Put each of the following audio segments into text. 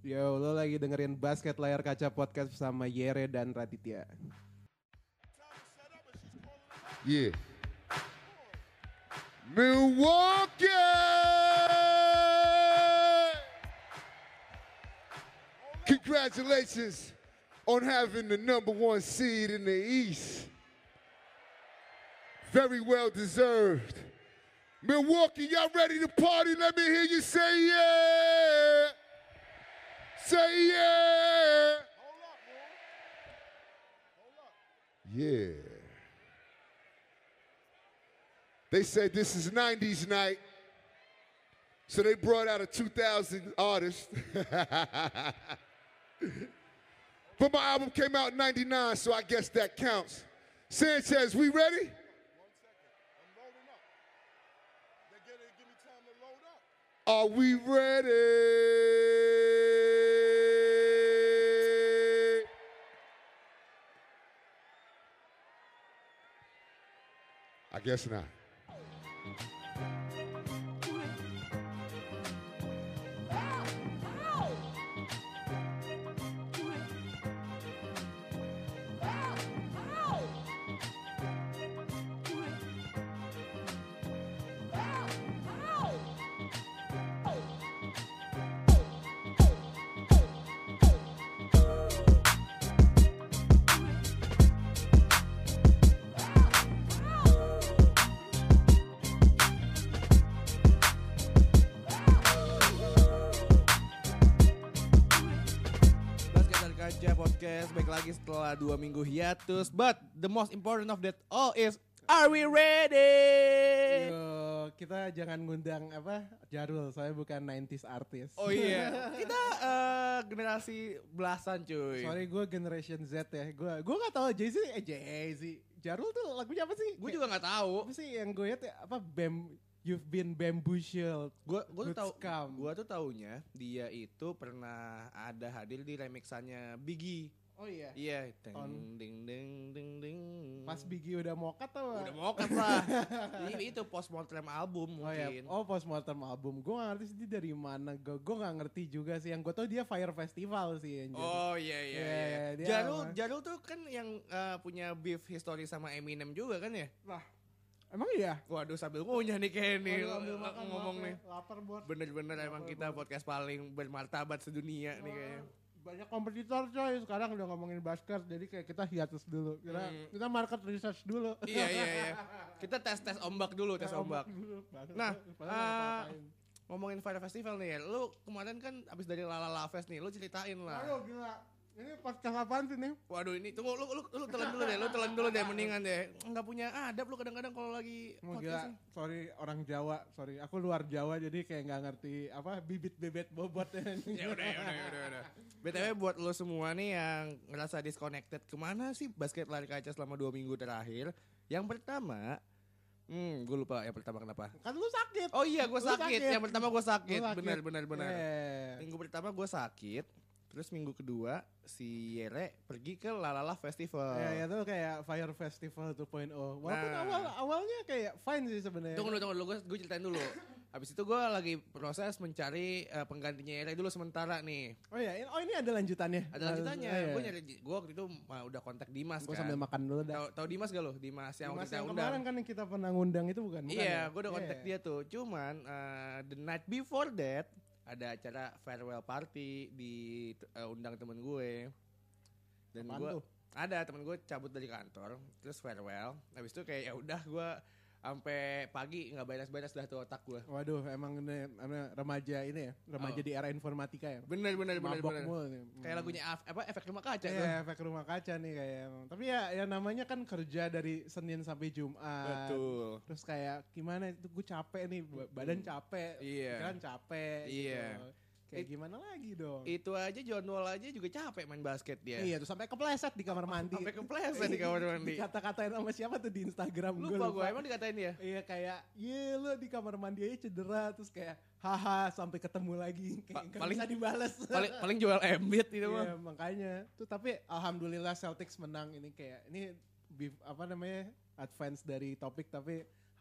Yo, lo lagi dengerin Basket Layar Kaca Podcast bersama Yere dan Raditya. Yeah. Milwaukee! Congratulations on having the number one seed in the East. Very well deserved. Milwaukee, y'all ready to party? Let me hear you say yeah. Say yeah. Hold up, bro. Hold up. Yeah. They said this is 90s night, so they brought out a 2000 artist. But my album came out in 99, so I guess that counts. Sanchez, we ready? 1 second. I'm loading up. Give me time to load up. Are we ready? I guess not. Kaca Podcast baik lagi setelah 2 minggu hiatus. But the most important of that all is, are we ready? Yo, kita jangan ngundang Jarul, soalnya bukan 90s artis. Oh iya, kita generasi belasan cuy. Sorry, gue generation Z ya. Gue gak tahu Jay-Z. Jarul tuh lagunya apa sih? Gue juga nggak tahu. Apa sih yang gue liat ya? You've been bamboozled. Gue tuh Good tahu. scam. Gue tuh taunya dia itu pernah ada hadir di remixannya Biggie. Oh iya. Iya, ding ding ding ding ding. Pas Biggie udah mokat tau gak? Udah mau kan lah. Jadi itu postmortem album Oh iya, mungkin. postmortem album. Gue gak ngerti sih dia dari mana. Gue gak ngerti juga sih. Yang gue tau dia Fire Festival sih. Yang jadi. Oh iya. dia Jarul tuh kan yang punya beef history sama Eminem juga kan ya? Lah, emang iya? Waduh sambil ngunyah nih kayak nih Ambil makan, ngomong lapar, nih. Lapar bos. Bener-bener emang kita podcast paling bermartabat sedunia nih kayaknya. Banyak kompetitor coy. Sekarang udah ngomongin basket. Jadi kayak kita hiatus dulu. Kita market research dulu. Iya. Kita tes ombak dulu, tes ombak. dulu. Nah, Padahal nggak apa-apain. ngomongin Fire Festival nih ya. Lu kemarin kan abis dari Lalala Fest nih, lu ceritain lah. Aduh gila. Ini podcast apaan sih nih? Waduh ini tunggu lu telan dulu deh mendingan deh. Enggak punya adab lu kadang-kadang kalau lagi Mau podcast. gila, sorry orang Jawa, sorry aku luar Jawa jadi kayak nggak ngerti bibit bebet bobot Ya udah. BTW buat lo semua nih yang ngerasa disconnected, kemana sih basket lari kaca selama 2 minggu terakhir? Yang pertama, gue lupa yang pertama kenapa. Kan lu sakit. Oh iya gue Lu sakit. Yang pertama gue sakit. Lu sakit. Benar. Yeah. Minggu pertama gue sakit. Terus minggu kedua si Yere pergi ke Lalala Festival. Ya itu kayak Fire Festival 2.0. Walaupun awalnya kayak fine sih sebenarnya. Tunggu dulu, gue ceritain dulu. Habis itu gue lagi proses mencari penggantinya Yere dulu sementara nih. Oh iya, ini ada lanjutannya. Ada lanjutannya. Iya. Gue waktu itu udah kontak Dimas Gue kan. sambil makan dulu dah. Tahu Dimas gak lo? Dimas yang waktu kita yang undang. kemarin kan yang kita pernah ngundang itu bukan Iya, ya? gue udah kontak dia tuh. Cuman the night before that ada acara farewell party di undang temen gue. Dan Apaan gue tuh? ada temen gue cabut dari kantor, terus farewell. Habis itu kayak ya udah gue sampai pagi nggak beres-beres dah tuh otak gue. Waduh, emang ini remaja ini ya, remaja di era informatika ya. Bener. Mabok mulu nih. Kayak lagunya efek rumah kaca tuh. Iya, efek rumah kaca nih kayak emang. Tapi ya namanya kan kerja dari Senin sampai Jumat. Betul. Terus kayak gimana itu gue capek nih, badan capek, Iya. pikiran capek. Iya. Gitu. Kayak gimana lagi dong? Itu aja John Wall aja juga capek main basket dia. Iya, tuh sampai kepleset di kamar mandi. Sampai kepleset di kamar mandi. Dikata-katain sama siapa tuh di Instagram? Lupa gue emang dikatain dia. Iya kayak, lu di kamar mandi aja cedera, terus kayak, haha sampai ketemu lagi, kayak nggak paling- bisa dibales. Paling jual Embiid itu mah. Iya makanya, tuh tapi alhamdulillah Celtics menang ini kayak, ini advance dari topik tapi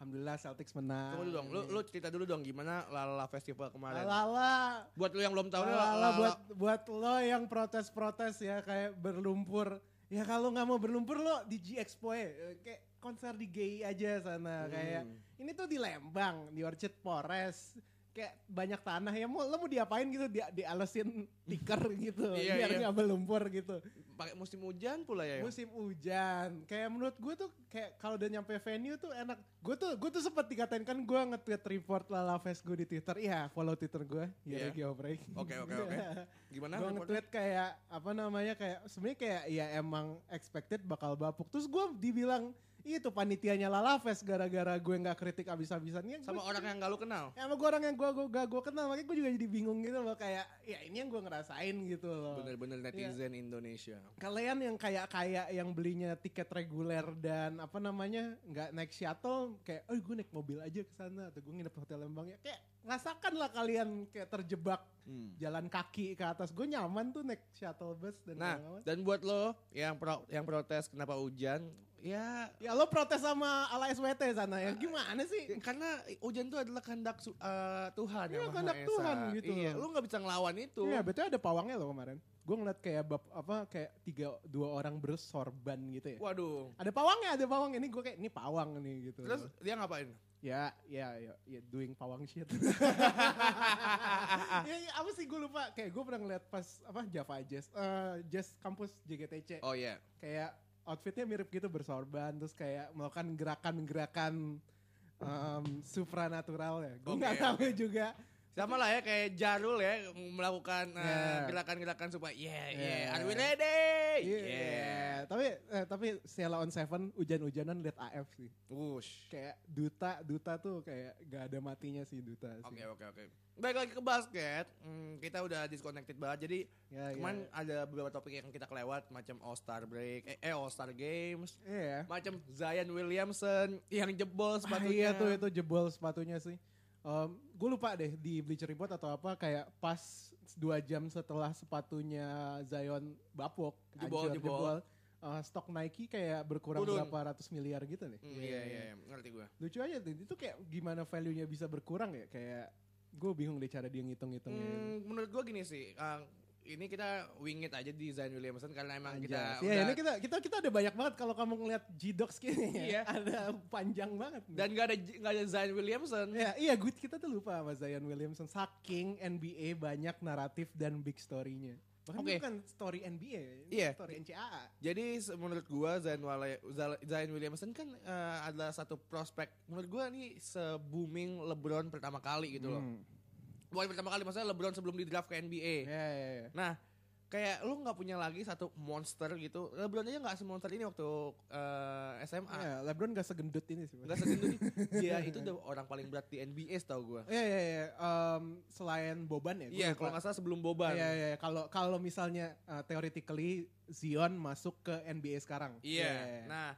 Alhamdulillah Celtics menang. Tunggu dulu dong, lu cerita dulu dong gimana Lala Festival kemarin. Lala. Buat lu yang belum tahu nih, Lala buat lo yang protes-protes ya kayak berlumpur. Ya kalau nggak mau berlumpur lo di G-Expo ya. Kayak konser di GI aja sana. Kayak ini tuh di Lembang, di Orchard Forest. Kayak banyak tanah ya, lo mau diapain gitu, dialesin tikar gitu, biar nggak berlumpur gitu. Pakai musim hujan pula ya. Musim hujan, kayak menurut gue tuh kayak kalau udah nyampe venue tuh enak. Gue tuh sempat dikatain kan gue nge-tweet report Lala Fest gue di Twitter. Iya, follow Twitter gue, Geoffrey. Oke. Gimana? Gue nge-tweet kayak apa namanya kayak sebenarnya kayak ya emang expected bakal bapuk. Terus gue dibilang itu panitianya Lala Fest gara-gara gue gak kritik abis-abisannya. Sama orang yang gak lu kenal? Ya sama gue orang yang gue kenal. Makanya gue juga jadi bingung gitu loh. Kayak ya ini yang gue ngerasain gitu loh. Bener-bener netizen Indonesia. Kalian yang kayak yang belinya tiket reguler dan apa namanya gak naik shuttle. Kayak gue naik mobil aja ke sana atau gue nginep di Hotel Lembang ya. Kayak rasakan lah kalian kayak terjebak jalan kaki ke atas. Gue nyaman tuh naik shuttle bus. Dan buat lo yang protes kenapa hujan. Ya lo protes sama ala SWT sana ya gimana sih? Karena hujan itu adalah kehendak Tuhan yang Maha kehendak Esa. Tuhan gitu. Iya, lu gak bisa ngelawan itu. Iya, betul ada pawangnya loh kemarin. Gue ngeliat kayak kayak 2 orang bersorban gitu ya. Waduh. Ada pawangnya. Ini gue kayak ini pawang nih gitu. Terus dia ngapain? Ya, doing pawang shit. ya, apa sih gue lupa. Kayak gue pernah ngeliat pas Java Jazz kampus JGTC. Oh iya. Kayak outfitnya mirip gitu bersorban terus kayak melakukan gerakan-gerakan supranatural ya. Gue nggak tahu juga. Sama lah ya kayak Jarul ya melakukan gerakan-gerakan supaya are we ready? Tapi Sheila on Seven hujan-hujanan liat AF sih. Wush. Kayak Duta tuh kayak gak ada matinya sih Duta sih. Oke. Baik lagi ke basket, kita udah disconnected banget. Jadi kemarin ada beberapa topik yang kita kelewat macam All-Star Break, All Star Games, macam Zion Williamson yang jebol sepatunya. Iya tuh itu jebol sepatunya sih. Gue lupa deh di Bleacher Report atau apa kayak pas 2 jam setelah sepatunya Zion bapuk jebol. Stok Nike kayak berkurang berapa ratus miliar gitu nih. Iya, ngerti gue. Lucu aja tuh, itu kayak gimana value-nya bisa berkurang ya, kayak gue bingung deh cara dia ngitung-ngitungnya. Menurut gue gini sih, ini kita wing it aja di Zion Williamson karena emang kita ini kita ada banyak banget kalau kamu ngeliat G-Docs kayaknya. Iya. Ada panjang banget. Dan gak ada Zion Williamson. Iya, kita tuh lupa sama Zion Williamson. Saking NBA banyak naratif dan big story-nya. Bahkan bukan story NBA, story NCAA. Jadi menurut gue Zion Williamson kan adalah satu prospek. Menurut gue nih se-booming LeBron pertama kali gitu loh. Bukan pertama kali, maksudnya LeBron sebelum di draft ke NBA. Iya. Nah, kayak lu gak punya lagi satu monster gitu. LeBron aja gak semonster ini waktu SMA. Iya, LeBron gak segendut ini sih. Gak segendut ini. Dia itu udah orang paling berat di NBA setahu gue. Iya. Selain Boban ya. Iya, kalau gak salah sebelum Boban. Iya. Kalau misalnya theoretically Zion masuk ke NBA sekarang. Iya. Nah,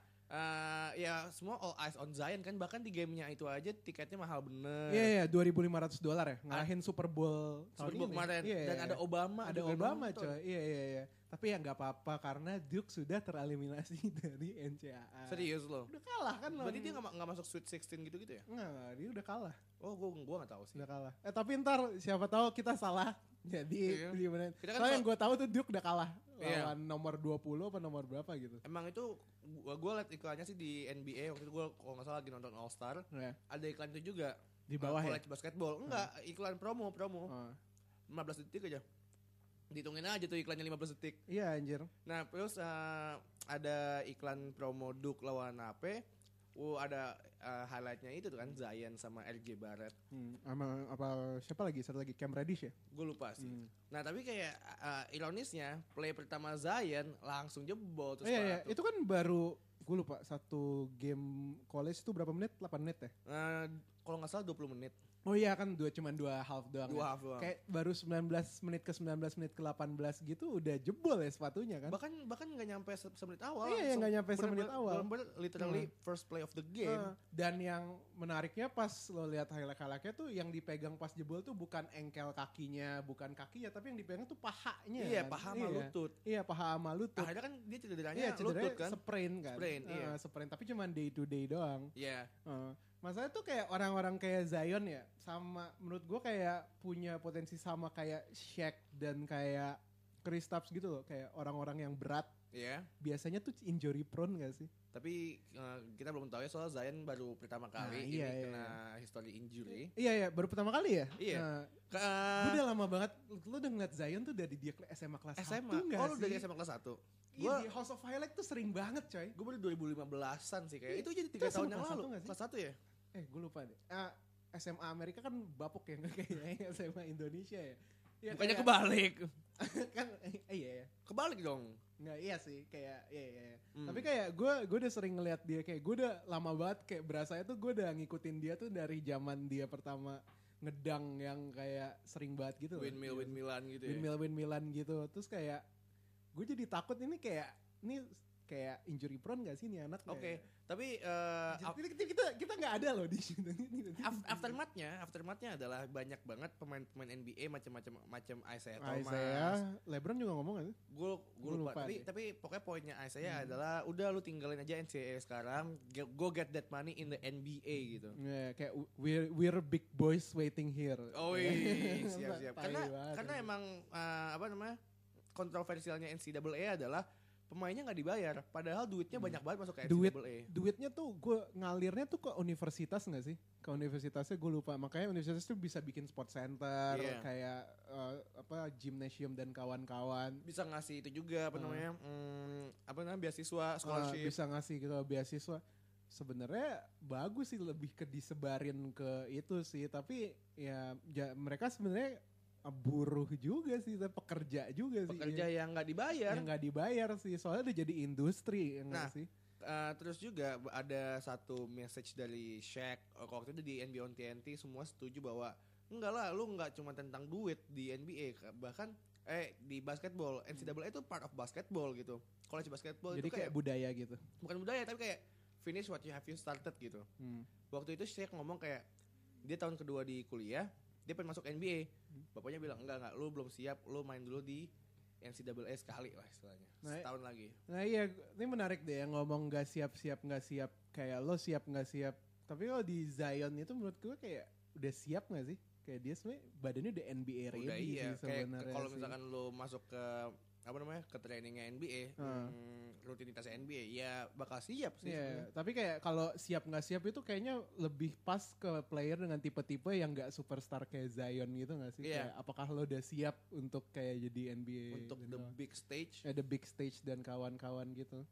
ya semua all eyes on Zion kan, bahkan di gamenya itu aja tiketnya mahal bener. Iya, $2.500 ya, ngalahin Super Bowl kemarin. Dan ada Obama. Ada Obama coy, iya. Tapi ya gak apa-apa karena Duke sudah tereliminasi dari NCAA. Serius loh? Udah kalah kan. Berarti dia gak masuk Sweet 16 gitu-gitu ya? Enggak, dia udah kalah. Oh, gue gak tahu sih. Udah kalah. Tapi ntar siapa tahu kita salah. Jadi gimana? Kan soalnya yang gue tahu tuh Duke udah kalah lawan nomor 20 apa nomor berapa gitu. Emang itu gue liat iklannya sih di NBA waktu itu, gue kalau nggak salah lagi nonton All Star. Ada iklan itu juga di bawah college basketball. Enggak, iklan promo. 15 detik aja. Dihitungin aja tuh iklannya 15 detik. Iya anjir. Nah terus ada iklan promo Duke lawan AP. Ada highlightnya itu tuh kan Zion sama RJ Barrett. Sama siapa lagi? Satu lagi Cam Reddish ya? Gue lupa sih. Nah tapi kayak ironisnya play pertama Zion langsung jebol terus. Iya. Itu kan baru gue lupa satu game college itu berapa menit? 8 menit ya? Kalau nggak salah 20 menit. Oh iya kan cuma 2 half doang. 2 half doang. Kayak baru 19 menit ke 19 menit ke 18 gitu udah jebol ya sepatunya kan. Bahkan gak nyampe semenit awal. Iya gak nyampe semenit awal. Literally first play of the game. Dan yang menariknya pas lo lihat highlight-highlightnya tuh yang dipegang pas jebol tuh bukan engkel kakinya, bukan kakinya, tapi yang dipegang tuh pahanya. Iya, paha sama lutut. Iya, paha sama lutut. Akhirnya kan dia cederanya lutut kan. Sprain kan. Sprain, iya. Sprain, tapi cuma day to day doang. Iya. Masalahnya tuh kayak orang-orang kayak Zion ya, sama menurut gue kayak punya potensi sama kayak Shaq dan kayak Kristaps gitu loh, kayak orang-orang yang berat. Iya. Biasanya tuh injury prone gak sih? Tapi kita belum tahu ya soal Zion baru pertama kali kena history injury. Iya, baru pertama kali ya? Iya. Gue udah lama banget, lu udah ngeliat Zion tuh dari dia SMA kelas 1 SMA. gak Oh, lu sih? dari SMA kelas 1? Iya, di House of Highlight tuh sering banget coy. Gue baru 2015-an sih kayak. Itu jadi 3 Itu tahun SMA yang kelas lalu. 1 nggak sih? Kelas 1 ya? Gue lupa deh. SMA Amerika kan bapuk ya, nggak kayak SMA Indonesia ya. Ya, Bukannya kayak- kebalik. kan iya. Kebalik dong. Nggak, iya sih, kayak iya. Tapi kayak gue udah sering ngeliat dia, kayak gue udah lama banget kayak berasanya tuh gue udah ngikutin dia tuh dari zaman dia pertama ngedang yang kayak sering banget gitu. Windmillan gitu ya. Windmillan gitu. Terus kayak gue jadi takut ini kayak injury prone gak sih nih anak? Oke, tapi kita nggak ada loh di sini. aftermathnya adalah banyak banget pemain NBA macam Isaiah Thomas. LeBron juga ngomong kan? Gue lupa. Tapi pokoknya poinnya Isaiah adalah udah lu tinggalin aja NCAA sekarang, go get that money in the NBA gitu. Kayak we're big boys waiting here. Oh iya, siap. Karena emang kontroversialnya NCAA adalah pemainnya nggak dibayar, padahal duitnya banyak banget masuk ke NCAA. Duitnya tuh gue ngalirnya tuh ke universitas nggak sih? Ke universitasnya gue lupa. Makanya universitas tuh bisa bikin sport center, kayak gymnasium dan kawan-kawan. Bisa ngasih itu juga beasiswa, scholarship. Bisa ngasih gitu beasiswa. Sebenarnya bagus sih, lebih ke disebarin ke itu sih. Tapi ya mereka sebenarnya buruh juga sih, pekerja juga sih. Pekerja yang nggak dibayar. Yang nggak dibayar sih, soalnya udah jadi industri. Sih? Terus juga ada satu message dari Shaq waktu itu di NBA on TNT, semua setuju bahwa enggak lah, lu nggak cuma tentang duit di NBA, bahkan di basketball, NCAA itu part of basketball gitu. College basketball jadi itu kayak budaya gitu. Bukan budaya, tapi kayak finish what you started gitu. Waktu itu Shaq ngomong kayak dia tahun kedua di kuliah, dia pengen masuk NBA. Bapaknya bilang enggak, lu belum siap, lu main dulu di NCAA sekali lah istilahnya, setahun lagi. Nah iya, ini menarik deh yang ngomong gak siap, kayak lo siap gak siap. Tapi kalau di Zion itu menurut gue kayak udah siap gak sih? Kayak dia sebenarnya badannya udah NBA ready udah, iya. sih sebenarnya. Kalau misalkan lo masuk ke ke trainingnya NBA, rutinitas NBA, ya bakal siap sih. Yeah, tapi kayak kalau siap nggak siap itu kayaknya lebih pas ke player dengan tipe-tipe yang nggak superstar kayak Zion gitu nggak sih? Yeah. Kayak apakah lo udah siap untuk kayak jadi NBA? Untuk the big stage? The big stage dan kawan-kawan gitu.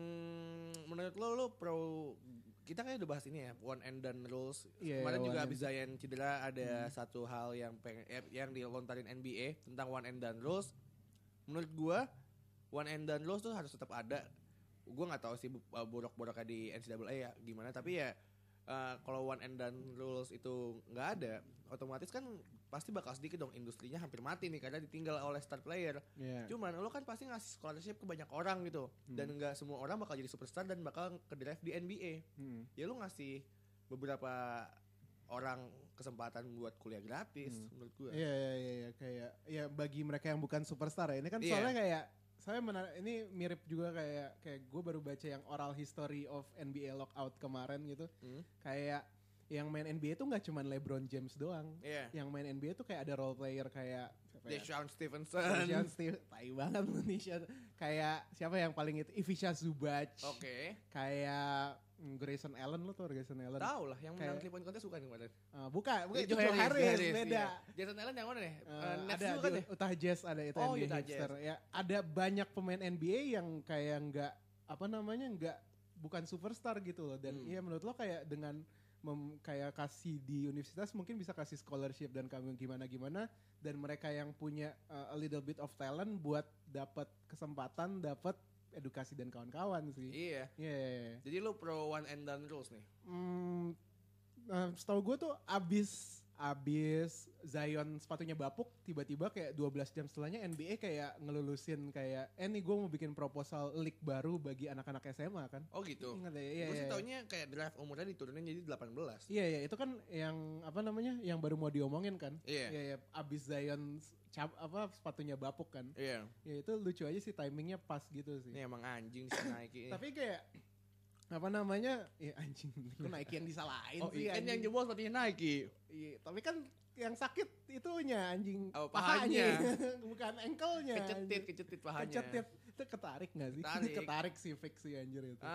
Menurut lo pro, kita kayak udah bahas ini ya, one and done rules. Yeah, kemarin juga abis Zion cedera ada satu hal yang dilontarin NBA tentang one and done rules. Menurut gue one and done rules tuh harus tetap ada. Gue nggak tahu sih borok-boroknya di NCAA ya gimana, tapi ya kalau one and done rules itu nggak ada, otomatis kan pasti bakal sedikit dong industrinya hampir mati nih karena ditinggal oleh star player. Cuman lo kan pasti ngasih scholarship ke banyak orang gitu, dan nggak semua orang bakal jadi superstar dan bakal ke draft di NBA. Ya lo ngasih beberapa orang kesempatan buat kuliah gratis menurut gue. Iya kayak ya bagi mereka yang bukan superstar ya. Ini kan soalnya kayak ini mirip juga kayak gue baru baca yang oral history of NBA lockout kemarin gitu. Kayak yang main NBA tuh nggak cuma LeBron James doang. Yang main NBA tuh kayak ada role player kayak Deshaun Stevenson. Tai banget Indonesia. Kayak siapa yang paling itu? Ivica Zubac. Oke. Kayak Grayson Allen, lo tau Grayson Allen? Tahu lah, yang menang 3 point contest bukan kemarin. Bukan Joe Harris, beda. Iya. Jason Allen yang mana nih? Nets juga kan ya? Utah Jazz ada itu NBA Utah hipster. Jazz. Ya, ada banyak pemain NBA yang kayak nggak bukan superstar gitu loh. Dan iya menurut lo kayak dengan kayak kasih di universitas mungkin bisa kasih scholarship dan kamu gimana dan mereka yang punya a little bit of talent buat dapat kesempatan, dapat edukasi dan kawan-kawan sih. Iya. Jadi lu pro one and done rules nih? Setahu gue tuh abis Zion sepatunya bapuk, tiba-tiba kayak 12 jam setelahnya NBA kayak ngelulusin kayak nih gue mau bikin proposal league baru bagi anak-anak SMA kan. Oh gitu? Ingat ya? Gue sih taunya kayak draft umurnya diturunin jadi 18. Iya itu kan yang yang baru mau diomongin kan. Iya. Abis Zion sepatunya bapuk kan. Iya. Ya itu lucu aja sih, timingnya pas gitu sih. Ini emang anjing sih Nike. Tapi kayak apa namanya? Ya anjing, kok Nike yang disalahin sih kan anjing. yang jebol sepatunya Nike. Iya, tapi kan yang sakit itunya anjing pahanya. Bukan ankle-nya. Kecetit pahanya. Kecetit. Itu ketarik gak sih? Ketarik sih fix sih anjir itu.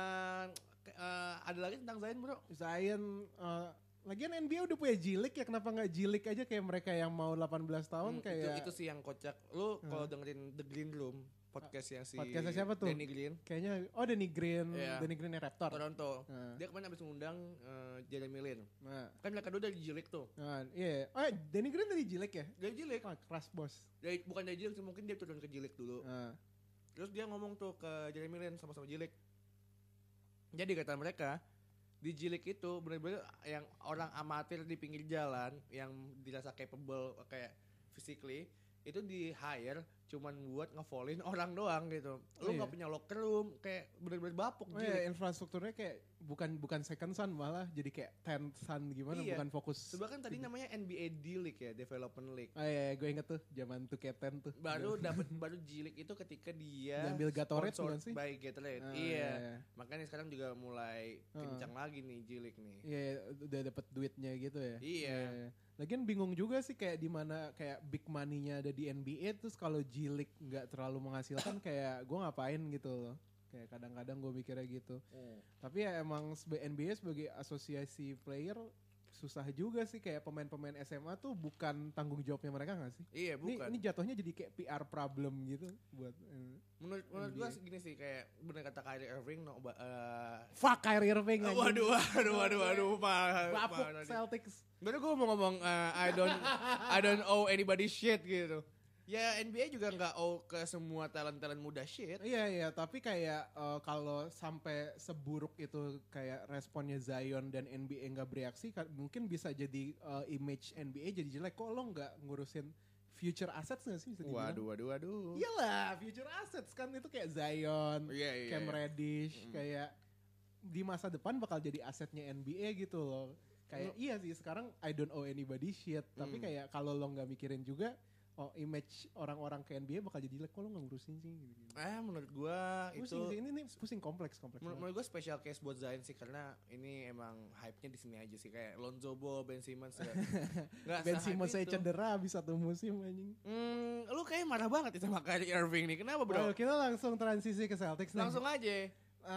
Ada lagi tentang Zion bro? Zion, lagian NBA udah punya G-League ya, kenapa gak G-League aja kayak mereka yang mau 18 tahun kayak. Itu sih yang kocak. Lu kalau dengerin The Green Room, podcastnya siapa tuh? Danny Green. Kayaknya, Danny Green, Danny Green yang Raptor. Toronto. Dia kemarin abis ngundang Jeremy Lin. Kan mereka dulu dari G-League tuh. Iya. Danny Green dari G-League ya? Dari G-League. Keras bos. Bukan dari G-League, mungkin dia turun ke G-League dulu. Terus dia ngomong tuh ke Jeremy Lin sama-sama G-League. Jadi kata mereka, di G-League itu benar-benar yang orang amatir di pinggir jalan yang dirasa capable kayak physically itu di hire cuman buat ngevolin orang doang gitu. Lu nggak punya locker room, kayak bener-bener bapuk. Infrastrukturnya kayak bukan second sun, malah jadi kayak 10th sun gimana, bukan fokus. Sebab kan tadi namanya NBA D-League ya, Development League. Gue inget tuh zaman 2K10 tuh. Baru G-League itu ketika dia ambil Gatorade bukan sih? By Gatorade. Iya. Makanya sekarang juga mulai kencang lagi nih G-League nih. Iya, udah dapet duitnya gitu ya. Iya. Lagian bingung juga sih kayak di mana kayak big money-nya ada di NBA, terus kalau G-League nggak terlalu menghasilkan kayak gue ngapain gitu loh. Kayak kadang-kadang gue mikirnya gitu. Tapi ya emang NBA sebagai asosiasi player susah juga sih, kayak pemain-pemain SMA tuh bukan tanggung jawabnya mereka gak sih? Iya bukan. Ini jatuhnya jadi kayak PR problem gitu buat. Menurut gue gini sih, kayak bener kata Kyrie Irving. Fuck Kyrie Irving. Waduh. Bapuk Celtics. Baru gue mau ngomong I don't owe anybody shit gitu. Ya NBA juga nggak owe ke semua talent muda shit. Iya, tapi kayak kalau sampai seburuk itu kayak responnya Zion dan NBA nggak bereaksi, mungkin bisa jadi image NBA jadi jelek. Kok lo nggak ngurusin future assets gak sih? Waduh. Iyalah, future assets kan itu kayak Zion, Cam Reddish, kayak di masa depan bakal jadi asetnya NBA gitu loh. Kayak iya sih sekarang I don't owe anybody shit, tapi kayak kalau lo nggak mikirin juga, image orang-orang ke NBA bakal jadi jelek, kok lo gak ngurusin sih gitu. Menurut gua pusing itu sih, ini pusing kompleks. Menurut gua special case buat Zion sih, karena ini emang hype-nya di sini aja sih, kayak Lonzo Ball, Ben Simmons Ben Simmons saya cedera habis 1 musim anjing. Lu kayak marah banget sama Kyrie Irving nih. Kenapa bro? Kita langsung transisi ke Celtics nih. Langsung aja.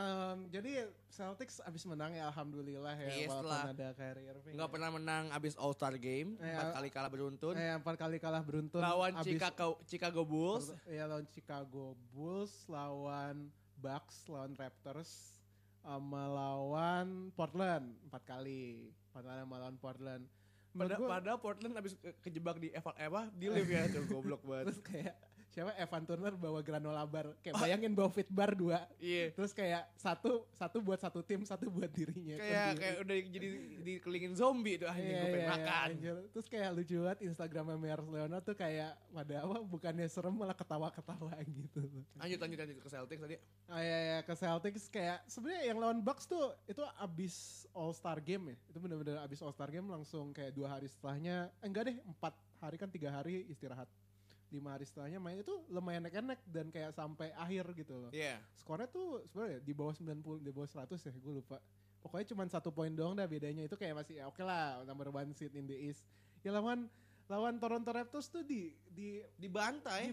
Jadi Celtics abis menang ya alhamdulillah ya, walaupun ada Kyrie Irving. Nggak pernah menang abis All-Star Game, 4 kali kalah beruntun. 4 kali kalah beruntun. Lawan Chicago Bulls. Lawan Chicago Bulls, lawan Bucks, lawan Raptors, sama lawan Portland 4 kali. Lawan Portland. Padahal Portland abis kejebak di live ya tuh, goblok banget. Terus kayak siapa Evan Turner bawa granola bar, kayak bayangin bawa fit bar 2. Iya. Terus kayak satu buat satu tim, satu buat dirinya. Kayak udah jadi dikelilingin zombie tuh, anjing gue pengen makan. Terus kayak lucu banget Instagramnya Meyers Leonard tuh kayak bukannya serem malah ketawa-ketawa gitu. Lanjut ke Celtics tadi. Ke Celtics kayak sebenarnya yang lawan Bucks tuh itu abis All Star Game ya. Itu benar-benar abis All Star Game langsung kayak 2 hari setelahnya, enggak deh 4 hari kan 3 hari istirahat. 5 hari setelahnya main itu lumayan enak-enak dan kayak sampai akhir gitu loh. Iya. Skornya tuh sebenarnya di bawah 90, di bawah 100 ya, gue lupa. Pokoknya cuma 1 poin doang dah bedanya, itu kayak masih oke lah, number 1 seed in the East. Ya lawan Toronto Raptors tuh dibantai.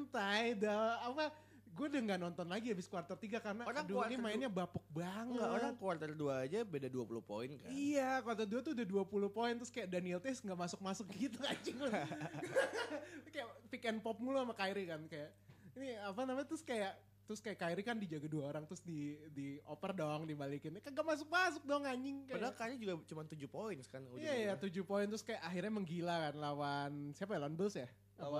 Gue udah gak nonton lagi habis quarter 3 karena ini mainnya bapuk banget. Orang quarter 2 aja beda 20 poin kan. Iya, quarter 2 tuh udah 20 poin, terus kayak Daniel Theis gak masuk-masuk gitu anjing. Kayak pick and pop mulu sama Kyrie kan, kayak ini terus kayak Kyrie kan dijaga 2 orang, terus dioper dong, dibalikin. Kagak masuk-masuk dong anjing. Padahal Kyrie juga cuma 7 poin kan. Iya, 7 poin, terus kayak akhirnya menggila kan lawan siapa ya, lawan Bulls ya?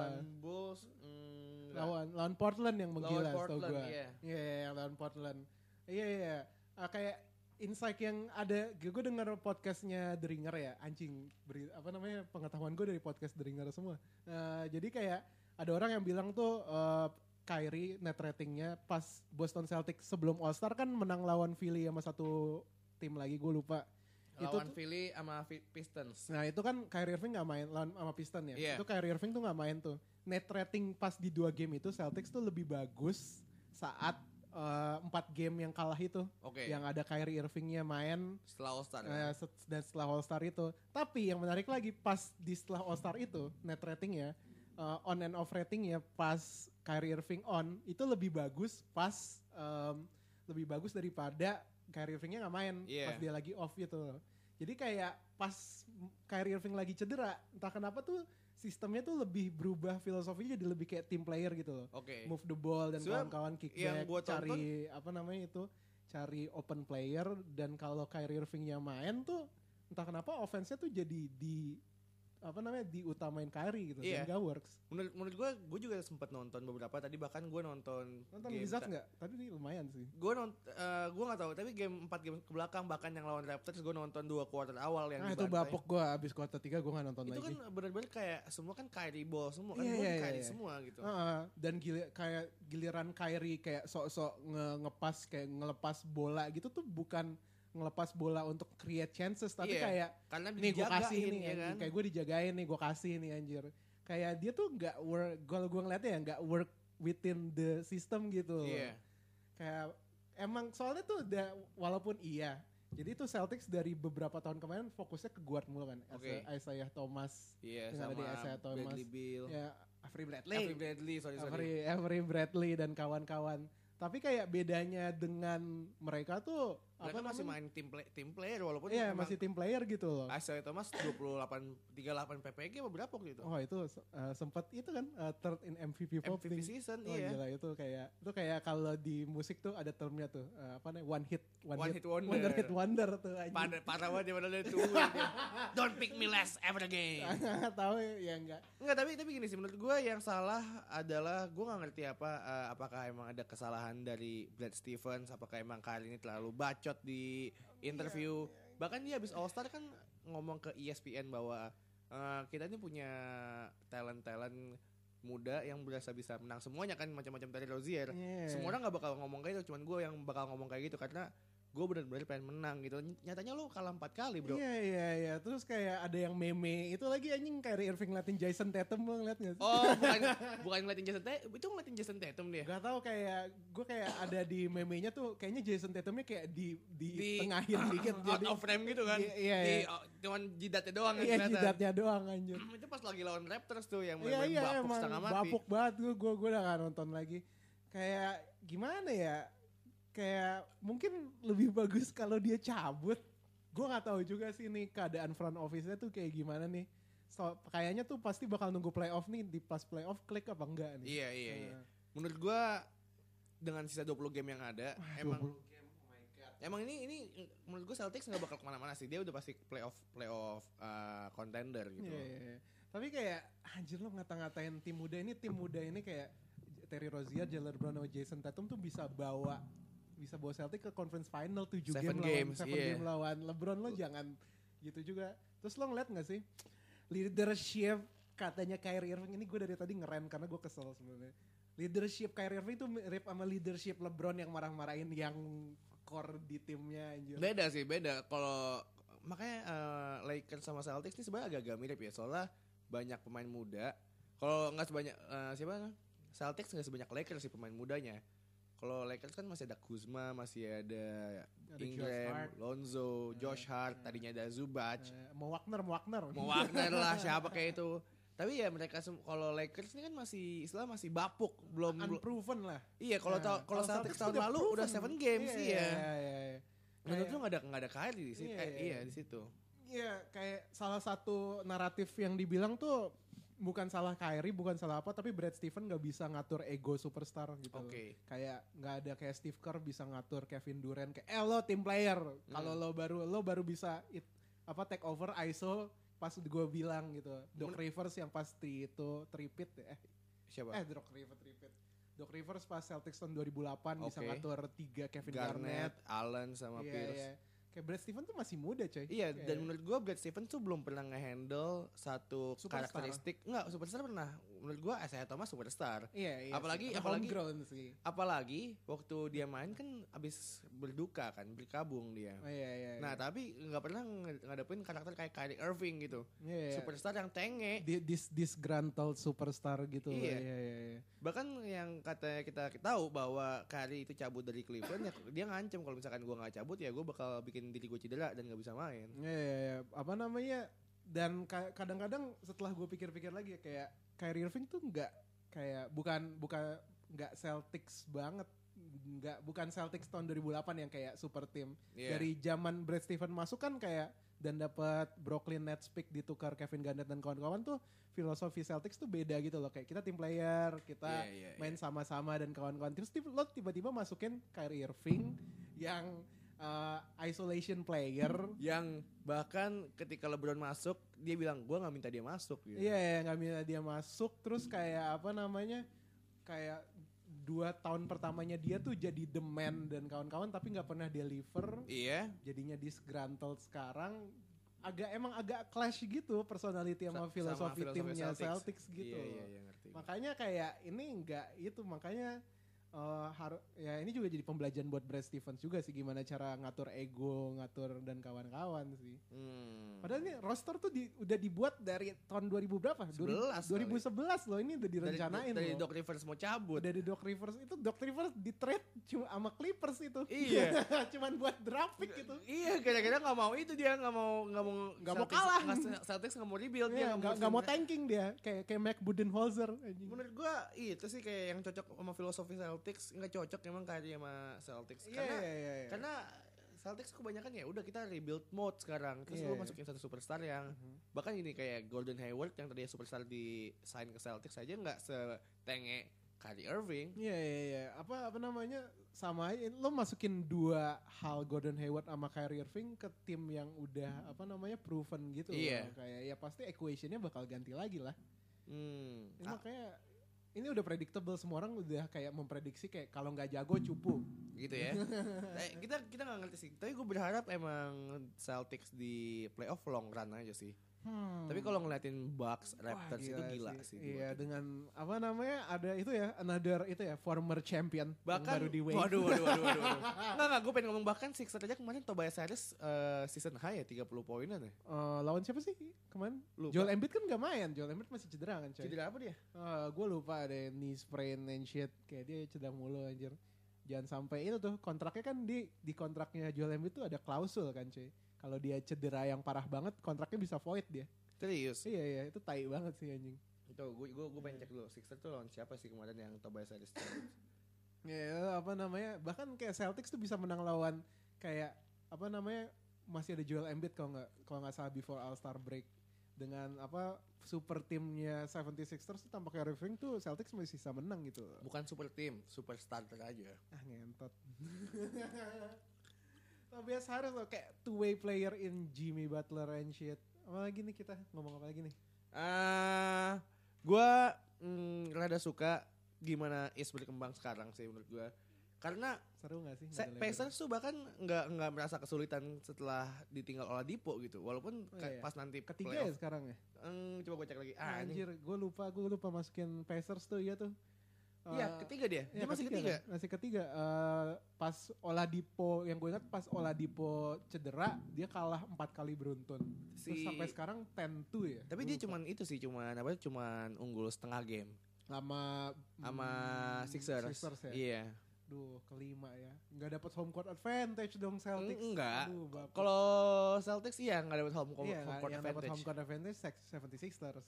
Lawan Portland yang menggila setahu gue. Iya, lawan Portland. Iya. Kayak insight yang ada, gue denger podcastnya The Ringer ya, anjing. Pengetahuan gue dari podcast The Ringer semua. Jadi kayak ada orang yang bilang tuh Kyrie net ratingnya pas Boston Celtics sebelum All Star kan menang lawan Philly sama satu tim lagi, gue lupa. Lawan Philly sama Pistons. Nah itu kan Kyrie Irving gak main lawan sama Pistons ya. Yeah. Itu Kyrie Irving tuh gak main tuh. Net rating pas di 2 game itu Celtics tuh lebih bagus saat 4 game yang kalah itu. Yang ada Kyrie Irvingnya main setelah All Star. Dan setelah All Star itu. Tapi yang menarik lagi pas di setelah All Star itu net ratingnya, on and off ratingnya pas Kyrie Irving on itu lebih bagus lebih bagus daripada Kyrie Irvingnya nggak main pas dia lagi off gitu. Jadi kayak pas Kyrie Irving lagi cedera, entah kenapa tuh sistemnya tuh lebih berubah, filosofinya jadi lebih kayak team player gitu loh. Move the ball dan kawan-kawan kickback, cari cari open player, dan kalau Kyrie Irvingnya main tuh entah kenapa offense-nya tuh jadi diutamain Kyrie gitu, dan gak works. Menurut gue juga sempat nonton beberapa tadi, bahkan gue nonton Wizards nggak? Tadi nih lumayan sih. Gue nggak tahu, tapi 4 game ke belakang bahkan yang lawan Raptors gue nonton 2 quarter awal yang itu bapok gue, abis quarter 3 gue nggak nonton lagi. Itu kan benar-benar kayak semua kan Kyrie ball semua kan, Kyrie semua gitu. Dan kayak giliran Kyrie kayak sok-sok ngepas kayak ngelepas bola gitu tuh bukan ngelepas bola untuk create chances, tapi kayak karena nih gue kasih nih ya kan? Kayak gue dijagain nih, gue kasih nih anjir. Kayak dia tuh nggak work, kalau gue ngeliatnya ya nggak work within the system gitu. Kayak emang soalnya tuh walaupun jadi tuh Celtics dari beberapa tahun kemarin fokusnya ke guard mulu kan. Isaiah Thomas, sama Isaiah Thomas, Bradley Beal, Avery Bradley dan kawan-kawan. Tapi kayak bedanya dengan mereka tuh mereka masih main tim player walaupun masih tim player gitu loh. Isaiah Thomas 38 PPG apa berapa gitu. Oh itu sempat itu kan third in MVP voting. Season. Gila, itu kayak kalau di musik tuh ada termnya tuh one hit wonder tuh. Parah banget dia padahal itu. Don't pick me last ever again. Tahu ya enggak. Enggak, tapi gini sih, menurut gue yang salah adalah gue nggak ngerti apakah emang ada kesalahan dari Brad Stevens, apakah emang kali ini terlalu bacot di interview. Bahkan dia habis All Star kan ngomong ke ESPN bahwa kita ini punya talent muda yang berasa bisa menang semuanya kan, macam-macam dari Rozier. Semua orang nggak bakal ngomong kayak gitu, cuman gue yang bakal ngomong kayak gitu karena gue benar-benar pengen menang gitu. Nyatanya lo kalah 4 kali bro. Iya. Terus kayak ada yang meme itu lagi anjing, Kyrie Irving ngeliatin Jason Tatum, lo ngeliat gak sih? Oh bukan ngeliatin Jason Tatum, itu ngeliatin Jason Tatum dia. Gak tau, gue kayak ada di meme-nya tuh kayaknya Jason Tatumnya kayak di tengahin dikit. Out of frame gitu kan. Iya. Cuman jidatnya doang. Iya jidatnya doang anjir. Itu pas lagi lawan Raptors tuh yang main bapuk setengah mati. Bapuk banget, gue udah gak nonton lagi. Kayak gimana ya? Kayak mungkin lebih bagus kalau dia cabut. Gue nggak tahu juga sih nih keadaan front office-nya tuh kayak gimana nih. Kayaknya tuh pasti bakal nunggu playoff nih, di pas playoff klik apa enggak nih. Iya. Menurut gue dengan sisa 20 game yang ada, emang ini menurut gue Celtics nggak bakal kemana-mana sih. Dia udah pasti playoff contender gitu. Iya. Tapi kayak anjir lo ngata-ngatain tim muda ini kayak Terry Rozier, Jalen Brown, sama Jason Tatum tuh bisa bawa Celtic ke conference final 7 game lawan LeBron. Lo jangan gitu juga. Terus lo ngeliat gak sih leadership katanya Kyrie Irving ini, gue dari tadi ngerem karena gue kesel sebenarnya. Leadership Kyrie Irving itu mirip sama leadership LeBron yang marah-marahin yang core di timnya anjir. Beda. Kalau makanya Lakers sama Celtics ini sebenarnya agak mirip ya, soalnya banyak pemain muda. Kalau nggak sebanyak Celtics nggak sebanyak Lakers sih pemain mudanya. Kalau Lakers kan masih ada Kuzma, masih ada Ingram, Lonzo, Josh Hart, tadinya ada Zubac. Mau Wagner lah, siapa kayak itu. Tapi ya mereka kalau Lakers ini kan masih bapuk, belum unproven lah. Iya, kalau Celtics tahun lalu udah 7 games sih ya. Menurut lu enggak ada Kyrie di situ. Iya, di situ. Iya, kayak salah satu naratif yang dibilang tuh bukan salah Kyrie, bukan salah apa, tapi Brad Stevens gak bisa ngatur ego superstar gitu. Kayak gak ada kayak Steve Kerr bisa ngatur Kevin Durant kayak lo team player. Kalau lo baru bisa take over ISO pas gue bilang gitu. Doc Rivers yang pasti itu tripit siapa? Doc Rivers pas Celtics tahun 2008 bisa ngatur 3 Kevin Garnett, Allen sama Pierce. Iya. Kayak Brad Stevens tuh masih muda coy. Iya, dan menurut gue Brad Stevens tuh belum pernah nge-handle satu superstar. karakteristik. Enggak, superstar pernah. menurut gue Isaiah Thomas superstar. Iya. Apalagi sih. Apalagi waktu dia main kan abis berduka kan, berkabung dia. Iya. Nah tapi nggak pernah ngadepin karakter kayak Kyrie Irving gitu. Iya. Superstar yang tenge. Disgruntled superstar gitu. Iya. Bahkan yang kata kita tahu bahwa Kyrie itu cabut dari Cleveland, ya dia ngancem kalau misalkan gue nggak cabut ya gue bakal bikin diri gue cedera dan nggak bisa main. Iya. Apa namanya? Dan kadang-kadang setelah gue pikir-pikir lagi kayak Kyrie Irving tuh bukan Celtics banget, bukan Celtics tahun 2008 yang kayak super team. Dari zaman Brad Stevens masuk kan kayak dan dapat Brooklyn Nets pick ditukar Kevin Garnett dan kawan-kawan tuh filosofi Celtics tuh beda gitu loh, kayak kita tim player, kita main sama-sama dan kawan-kawan. Terus lo tiba-tiba masukin Kyrie Irving yang isolation player yang bahkan ketika LeBron masuk dia bilang gue nggak minta dia masuk gitu. Iya, nggak minta dia masuk. Terus kayak apa namanya, kayak 2 tahun pertamanya dia tuh jadi the man dan kawan-kawan tapi nggak pernah deliver. Iya. Jadinya disgruntled sekarang. Agak clash gitu personality sama filosofi timnya Celtics gitu. Iya, ngerti. Makanya kayak ini enggak itu, makanya ya ini juga jadi pembelajaran buat Brad Stevens juga sih, gimana cara ngatur ego, ngatur dan kawan-kawan sih. Padahal ini roster tuh udah dibuat dari tahun 2000 berapa? 2011 loh, ini udah direncanain dari loh. Doc Rivers mau cabut. Dari Doc Rivers itu, Doc Rivers di trade cuma sama Clippers itu. Iya. Cuman buat draft pick gitu. Iya, kira-kira nggak mau itu dia nggak mau kalah. Celtics nggak mau rebuild, dia nggak mau tanking dia, kayak Mac Budenholzer. Menurut gua itu sih kayak yang cocok sama filosofi Celtics, nggak cocok emang kayak sama Celtics karena Celtics kebanyakan ya udah kita rebuild mode sekarang, terus lu masukin satu superstar yang bahkan ini kayak Gordon Hayward yang tadinya superstar di sign ke Celtics aja nggak setenge Kyrie Irving. Iya. Apa namanya, sama aja lo masukin 2 hal Gordon Hayward sama Kyrie Irving ke tim yang udah apa namanya proven gitu. Kayak ya pasti equationnya bakal ganti lagi lah. Makanya ini udah predictable, semua orang udah kayak memprediksi kayak kalau nggak jago cupu gitu ya. kita nggak ngerti sih, tapi gue berharap emang Celtics di playoff long run aja sih. Tapi kalau ngeliatin Bucks, Raptors itu gila sih. Iya, dengan apa namanya, ada itu ya, another itu ya, former champion bahkan baru di wave. Waduh. Nggak, gue pengen ngomong bahkan Sixers aja kemarin Tobias Harris season high ya 30 poinan ya. Lawan siapa sih kemarin? Lupa. Joel Embiid kan gak main, Joel Embiid masih cedera kan coy. Cedera apa dia? Gue lupa, ada knee sprain and shit, kayak dia cedera mulu anjir. Jangan sampai itu tuh, kontraknya kan di kontraknya Joel Embiid tuh ada klausul kan cuy. Kalau dia cedera yang parah banget, kontraknya bisa void dia. Serius? Iya, itu tai banget sih anjing. Itu gue pengen cek dulu, Sixers tuh lawan siapa sih kemarin yang Tobias Harris? Ya apa namanya, bahkan kayak Celtics tuh bisa menang lawan kayak apa namanya, masih ada Joel Embiid kalau nggak salah before All Star break. Dengan apa super timnya 76ers tuh tanpa Kyrie Irving tuh Celtics masih bisa menang gitu. Bukan super tim, super starter aja. Ngentot. Tobias Harris loh, kayak two-way player in Jimmy Butler and shit. Apa lagi nih kita ngomong apa lagi nih? Gue rada suka gimana East berkembang sekarang sih menurut gue. Karena seru gak sih? Pacers tuh bahkan nggak merasa kesulitan setelah ditinggal Oladipo gitu. Walaupun pas nanti ketiga playoff, ya sekarang ya? Coba gue cek lagi. Anjir, gue lupa masukin Pacers tuh, iya tuh. Iya, ketiga dia. Dia masih ketiga. Masih ketiga. Pas Oladipo, yang gue ingat pas Oladipo cedera, dia kalah 4 kali beruntun. Terus sampai sekarang 10-2 ya. Tapi dia cuman unggul setengah game. Sama Sixers ya. Iya. Duh, kelima ya. Nggak dapat home court advantage dong Celtics. Enggak. Kalau Celtics nggak dapat home court advantage. Yang dapat home court advantage 76ers.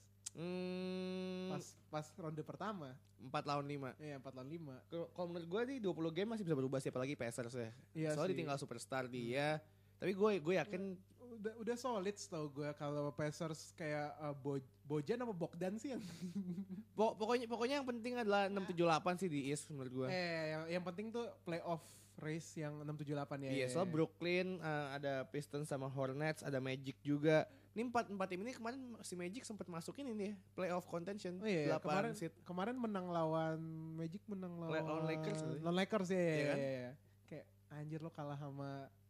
Pas ronde pertama 4 lawan 5. Iya, 4 lawan 5. Kalau menurut gue nih 20 game masih bisa berubah, siapa lagi Pacers ya. Iya, soalnya ditinggal superstar dia. Tapi gue yakin udah solid tau gue kalau Pacers kayak Bojan apa Bogdan sih yang pokoknya yang penting adalah 6-7-8 sih di East menurut gue. Yang penting tuh playoff race yang 6-7-8 ya. Iya, soal Brooklyn ada Pistons sama Hornets, ada Magic juga. Ini 4 tim ini kemarin si Magic sempat masukin ini ya, playoff contention. Iya, kemarin menang lawan Magic, menang lawan Lakers. Lawan Lakers ya. Iya kan? Kayak anjir lo kalah sama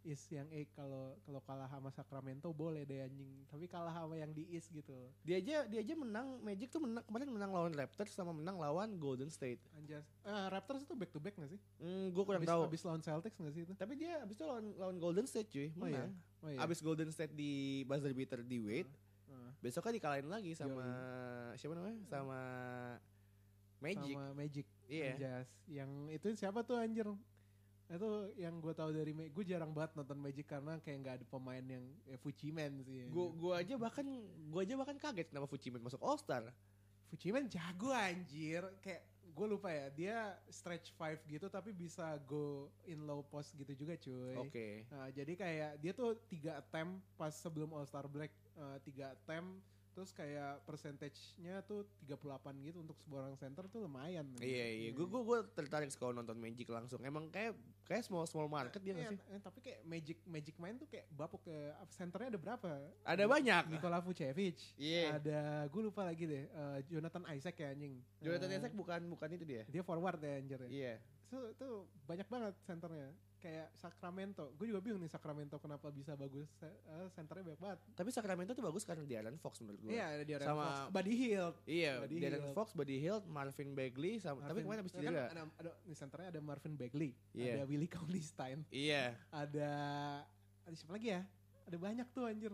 East yang kalau kalah sama Sacramento boleh deh anjing. Tapi kalah sama yang di East gitu. Dia aja menang, Magic tuh kemarin menang lawan Raptors sama menang lawan Golden State. Anjas. Raptors itu back to back gak sih? Gue kurang tahu. Abis lawan Celtics gak sih itu? Tapi dia abis itu lawan Golden State cuy, menang. Oh iya. Abis Golden State di buzzer beater di Wade. Besoknya dikalahin lagi sama siapa namanya? Sama Magic. Sama Magic. Iya. Anjas. Yang itu siapa tuh anjir? Itu yang gue tahu dari gue jarang banget nonton Magic karena kayak nggak ada pemain yang Fujiman sih. Gue aja bahkan kaget kenapa Fujiman masuk All Star. Fujiman jago anjir, kayak gue lupa ya, dia stretch 5 gitu tapi bisa go in low post gitu juga cuy. Oke. Nah, jadi kayak dia tuh 3 attempt pas sebelum All Star break, 3 attempt. Terus kayak percentage-nya tuh 38 gitu untuk sebuah orang center tuh lumayan. Iya. Gue tertarik kalau nonton Magic langsung. Emang kayak small market dia nggak sih? Tapi kayak Magic main tuh kayak bapuk ke centernya ada berapa? Ada banyak. Nikola Vucevic. Iya. Ada gue lupa lagi deh. Jonathan Isaac ya anjing. Jonathan Isaac bukan itu dia. Dia forward ya anjir ya. Iya. Itu banyak banget centernya. Kayak Sacramento, gue juga bingung nih Sacramento kenapa bisa bagus, centernya banyak banget. Tapi Sacramento tuh bagus karena De'Aaron Fox menurut gue. Iya, ada De'Aaron sama Fox, Buddy Hield. Iya, De'Aaron Fox, Buddy Hield, Marvin Bagley, tapi kemarin abis cedera. Kan ada nih centernya ada Marvin Bagley, Iya. ada Willie Cauley-Stein. Iya. Ada siapa lagi ya? Ada banyak tuh anjir.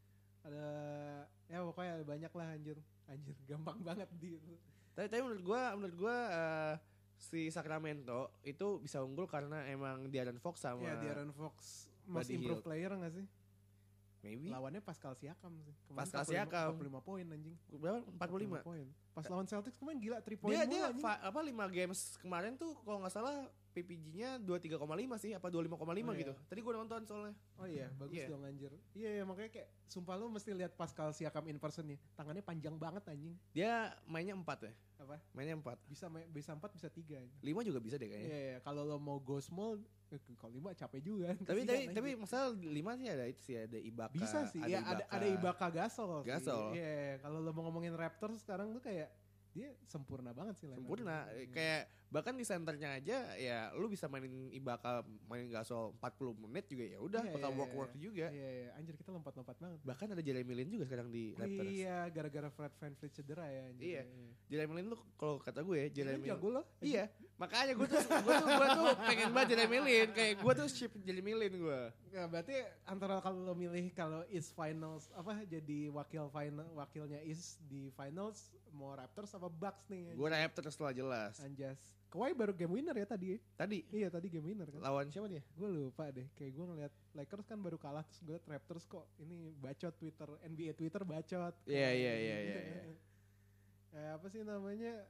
Ya pokoknya ada banyak lah anjir. Anjir gampang banget gitu. Tapi menurut gue si Sacramento itu bisa unggul karena emang De'Aaron Fox sama De'Aaron Fox most Buddy improved Hield. player gak sih? Maybe. Lawannya Pascal Siakam sih. Pascal Siakam. 45 poin anjing. Berapa? 45 poin. Pas lawan Celtics kemarin gila 3 poin dia anjing. 5 games kemarin tuh kalau nggak salah PPG-nya 23,5 sih apa 25,5 gitu. Tadi gue nonton soalnya. Oh iya, bagus dong anjir. Iya, makanya kayak sumpah lu mesti lihat Pascal Siakam in person nih. Tangannya panjang banget anjing. Dia mainnya 4 ya? Apa? Mainnya 4. Bisa 4 bisa 3. 5 juga bisa deh kayaknya. Iya, kalau lo mau go small kalau 5 capek juga. Tapi masalah 5 sih ada itu sih ada Ibaka. Bisa sih. Ada Ibaka Gasol. Iya, kalau lo mau ngomongin Raptors sekarang tuh kayak dia sempurna banget sih. Sempurna. Kayak bahkan di centernya aja ya lu bisa mainin Ibaka, mainin Gasol 40 menit juga ya udah bakal work juga. Iya, anjir kita lompat-lompat banget. Bahkan ada Jeremy Lin juga sekarang di Raptors. Iya, gara-gara Fred VanVleet cedera ya anjir. Iya. Jeremy Lin tuh kalau kata gue ya Jeremy jago loh. Iya, makanya gue tuh pengen banget Jeremy Lin, kayak gue tuh ship Jeremy Lin gue. Ya, berarti antara kalau lo milih kalau East Finals jadi wakilnya East di Finals mau Raptors apa Bucks nih? Gue Raptors lah jelas. Anjas. Kawhi baru game winner ya tadi. Iya tadi game winner kan. Lawan siapa dia? Gue lupa deh. Kayak gue ngeliat Lakers kan baru kalah terus gue liat Raptors kok ini bacot NBA Twitter bacot. Iya. Apa sih namanya?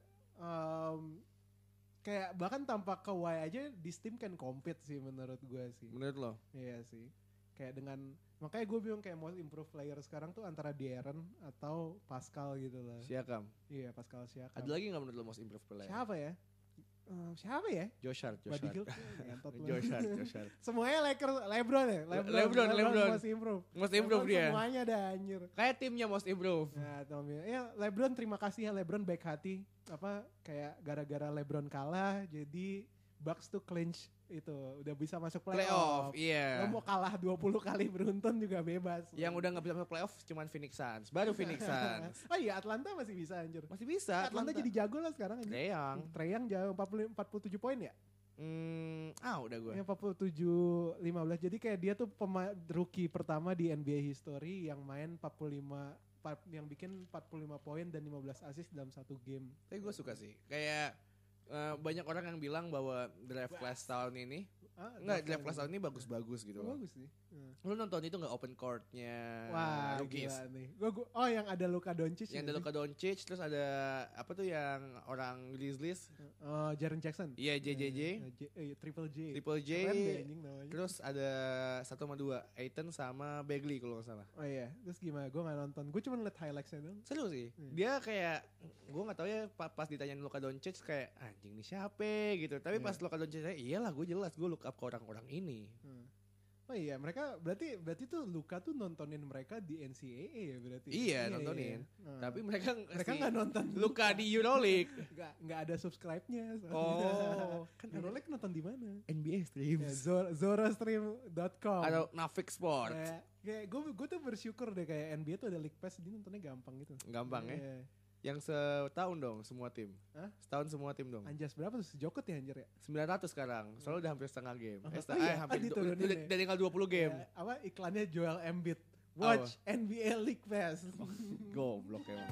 Kayak bahkan tanpa Kawhi aja this team can compete sih menurut gue sih. Menurut lo? Iya sih. Kayak makanya gue bingung kayak most improved player sekarang tuh antara De'Aaron atau Pascal gitu lah. Siakam. Iya Pascal Siakam. Ada lagi gak menurut lo most improved player? Siapa ya? Josh Hart. Josh Hart. Semuanya Lakers, LeBron ya? LeBron. Most improved dia. Semuanya ada anjir. Kayak timnya most improved. Nah, ya LeBron terima kasih ya LeBron baik hati. Kayak gara-gara LeBron kalah jadi Bucks tuh clinch itu udah bisa masuk playoff. Iya. Lo mau kalah 20 kali beruntun juga bebas. Yang udah gak bisa masuk playoff cuman Phoenix Suns. Baru Phoenix Suns. Oh iya Atlanta masih bisa anjir. Masih bisa. Atlanta jadi jago lah sekarang. Trae Young jauh 47 poin ya? Udah gue. 47-15. Jadi kayak dia tuh rookie pertama di NBA history yang main yang bikin 45 poin dan 15 assist dalam satu game. Tapi gue suka sih. Kayak banyak orang yang bilang bahwa draft class tahun ini draft class tahun ini bagus-bagus gitu loh. Bagus sih. Lu nonton itu gak open court-nya rookies? Gila nih. Yang ada Luka Doncic. Yang ada Luka Doncic, terus ada apa tuh yang orang Grizzlies? Jaren Jackson. Iya, JJJ. Triple J. Terus ada 1 sama 2, Ayton sama Bagley kalau gak salah. Oh iya, terus gimana? Gue gak nonton. Gue cuma liat highlights-nya dong. Seru sih. Dia kayak, gue gak tahu ya pas ditanyain Luka Doncic kayak anjing nih siapa gitu. Tapi pas Luka Doncic iyalah gue jelas gue look up ke orang-orang ini. Oh iya, mereka berarti tuh Luka tuh nontonin mereka di NCAA ya berarti. Iya, nontonin. Iya. Tapi mereka nggak nonton Luka di Euroleague. Nggak ada subscribe-nya. Oh, kan Euroleague nonton di mana? NBA stream. Ya, Zorastream.com Atau Nafik Sport. Kayak gue tuh bersyukur deh kayak NBA tuh ada League Pass, jadi nontonnya gampang gitu. Gampang ya. Iya. Yang setahun dong semua tim. Hah? Setahun semua tim dong. Anjas berapa tuh? Sejokot ya anjir ya? 900 sekarang. Soalnya udah hampir setengah game. Hampir diturunin ya? udah tinggal 20 game. Ya, apa iklannya Joel Embiid. Watch NBA League Pass. Goblok emang.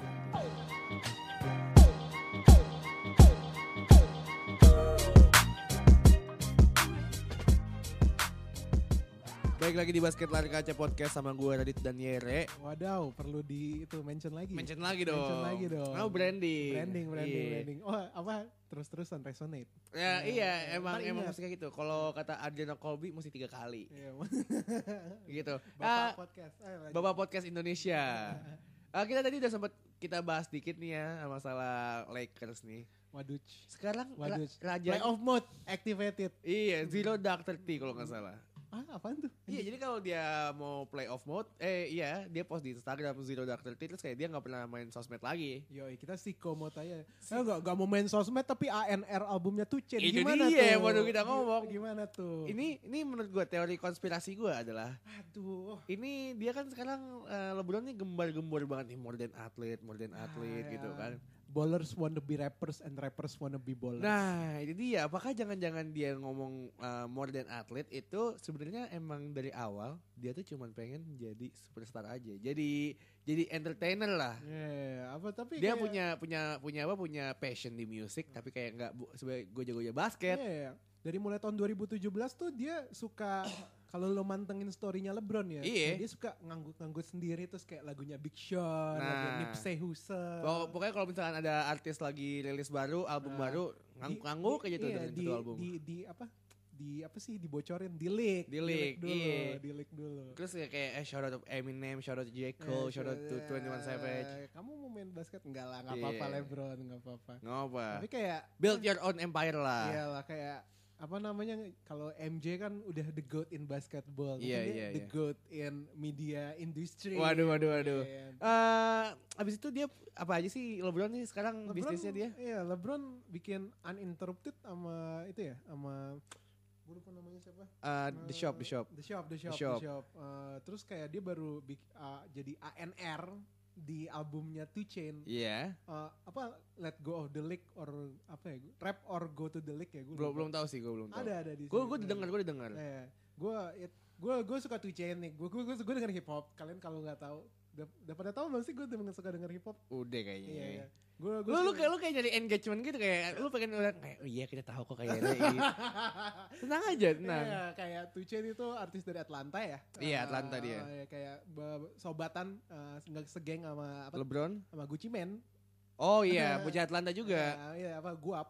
Baik lagi di Basket Lari Kaca Podcast sama gue Radit dan Yere. Wadaw, perlu mention lagi. Mention lagi dong. Oh, branding. Iya. Oh, apa? Terus-terusan resonate. Ya, iya, emang ingat. mesti kayak gitu. Kalau kata Adriano Colby mesti 3 kali. Iya. Gitu. Bapak podcast. Bapak podcast Indonesia. Kita tadi udah sempat kita bahas dikit nih ya masalah Lakers nih. Waduh. Sekarang raja playoff mode activated. Iya, Zero Dark 30 kalau nggak salah. Apaan tuh? Iya, jadi kalau dia mau playoff mode, dia post di Instagram Zero Dark 30 terus kayak dia nggak pernah main sosmed lagi. Yoi, kita siko mode aja. Nggak mau main sosmed tapi ANR albumnya tuh Itu gimana dia, tuh? baru kita ngomong. Gimana tuh? Ini menurut gue teori konspirasi gue adalah, aduh. Ini dia kan sekarang LeBron nih gembar-gembor banget nih more than athlete gitu kan. Ballers wanna be rappers and rappers wanna be ballers. Nah, itu dia. Apakah jangan-jangan dia ngomong more than athlete itu sebenarnya emang dari awal dia tuh cuma pengen jadi superstar aja. Jadi entertainer lah. Tapi dia kayak, punya passion di musik tapi kayak enggak sebagai goja-goja basket. Dari mulai tahun 2017 tuh dia suka kalau lo mantengin story-nya LeBron ya, dia suka nganggut sendiri terus kayak lagunya Big Sean, lagu Nipsey Hussle. Pokoknya kalau misalkan ada artis lagi rilis baru, album baru, ngangguk aja tuh dengan satu album. Dibocorin di leak dulu. Terus kayak shout out to Eminem, shout out to J. Cole, shout out to 21 Savage. Kamu mau main basket? Enggak lah, enggak apa-apa LeBron, enggak apa-apa. Tapi kayak build your own empire lah. Iyalah kayak apa namanya, kalau MJ kan udah the GOAT in basketball, the GOAT in media industry. Waduh. Abis itu dia apa aja sih LeBron nih sekarang bisnisnya dia? Iya, LeBron bikin Uninterrupted sama itu ya, sama gue lupa namanya siapa? The Shop. Terus kayak dia baru jadi ANR di albumnya 2 Chainz. Iya. Let Go of the League or apa ya? Rap or Go to the League ya? Belum tahu sih, gue belum tahu. Ada di sini. Gue dengar. Gue suka 2 Chainz nih. Gue denger hip hop. Kalian kalau nggak tahu, udah pada tahu belum sih gue suka denger hip hop? Udah kayaknya. Iya. Lu kayak nyari engagement gitu, kayak lu pengen udah kayak iya kita tahu kok kayaknya. Tenang aja, tenang. Iya, kayak 2 Chainz itu artis dari Atlanta ya. Iya, Atlanta dia. Kayak sobatan nggak segeng sama LeBron sama Gucci Mane. Oh iya, bocah Atlanta juga. Iya, Guap.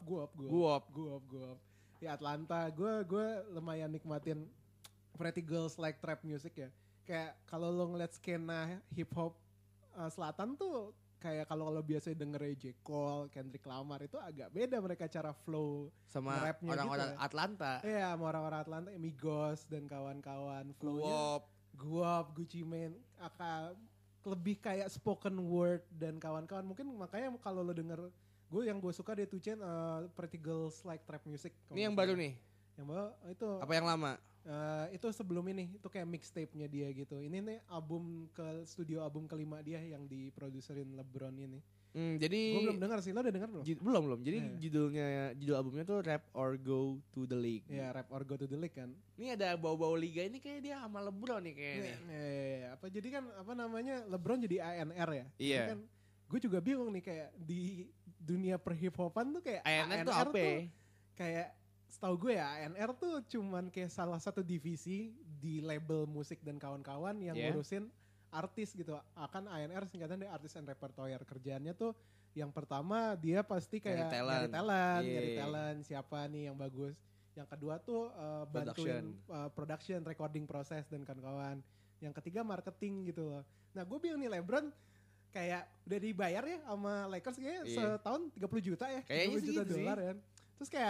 Di Atlanta, gue lumayan nikmatin Pretty Girls Like Trap Music ya. Kayak kalau lo ngeliat skena hip hop selatan tuh kayak kalau biasanya denger J. Cole, Kendrick Lamar itu agak beda mereka cara flow sama rapnya orang-orang gitu. Atlanta. Iya, sama orang-orang Atlanta, Migos dan kawan-kawan flownya. Guap, Gucci Mane, lebih kayak spoken word dan kawan-kawan. Mungkin makanya kalau lo denger, yang gue suka dia 2 Chainz Pretty Girls Like Trap Music. Ini yang baru nih? Yang baru itu. Apa yang lama? Itu sebelum ini, itu kayak mixtape-nya dia gitu. Ini nih studio album kelima dia yang diproduserin LeBron ini. Jadi gue belum dengar sih, lo udah dengar belum? Belum. Jadi judul albumnya tuh Rap or Go to the League. Iya, Rap or Go to the League kan. Ini ada bau-bau liga ini kayak dia sama LeBron nih kayaknya. Jadi kan apa namanya, LeBron jadi ANR ya. Iya. Kan gue juga bingung nih kayak di dunia perhip-hopan tuh kayak ANR tuh apa? Kayak setahu gue ya, ANR tuh cuman kayak salah satu divisi di label musik dan kawan-kawan yang ngurusin artis gitu. ANR singkatan dari Artist and Repertoire. Kerjaannya tuh yang pertama dia pasti kayak nyari talent, siapa nih yang bagus. Yang kedua tuh bantuin production, recording proses dan kawan-kawan. Yang ketiga marketing gitu loh. Nah gue bingung nih, LeBron kayak udah dibayar ya sama Lakers kayaknya setahun 30 juta ya. Kayaknya $30 juta kan. Terus kayak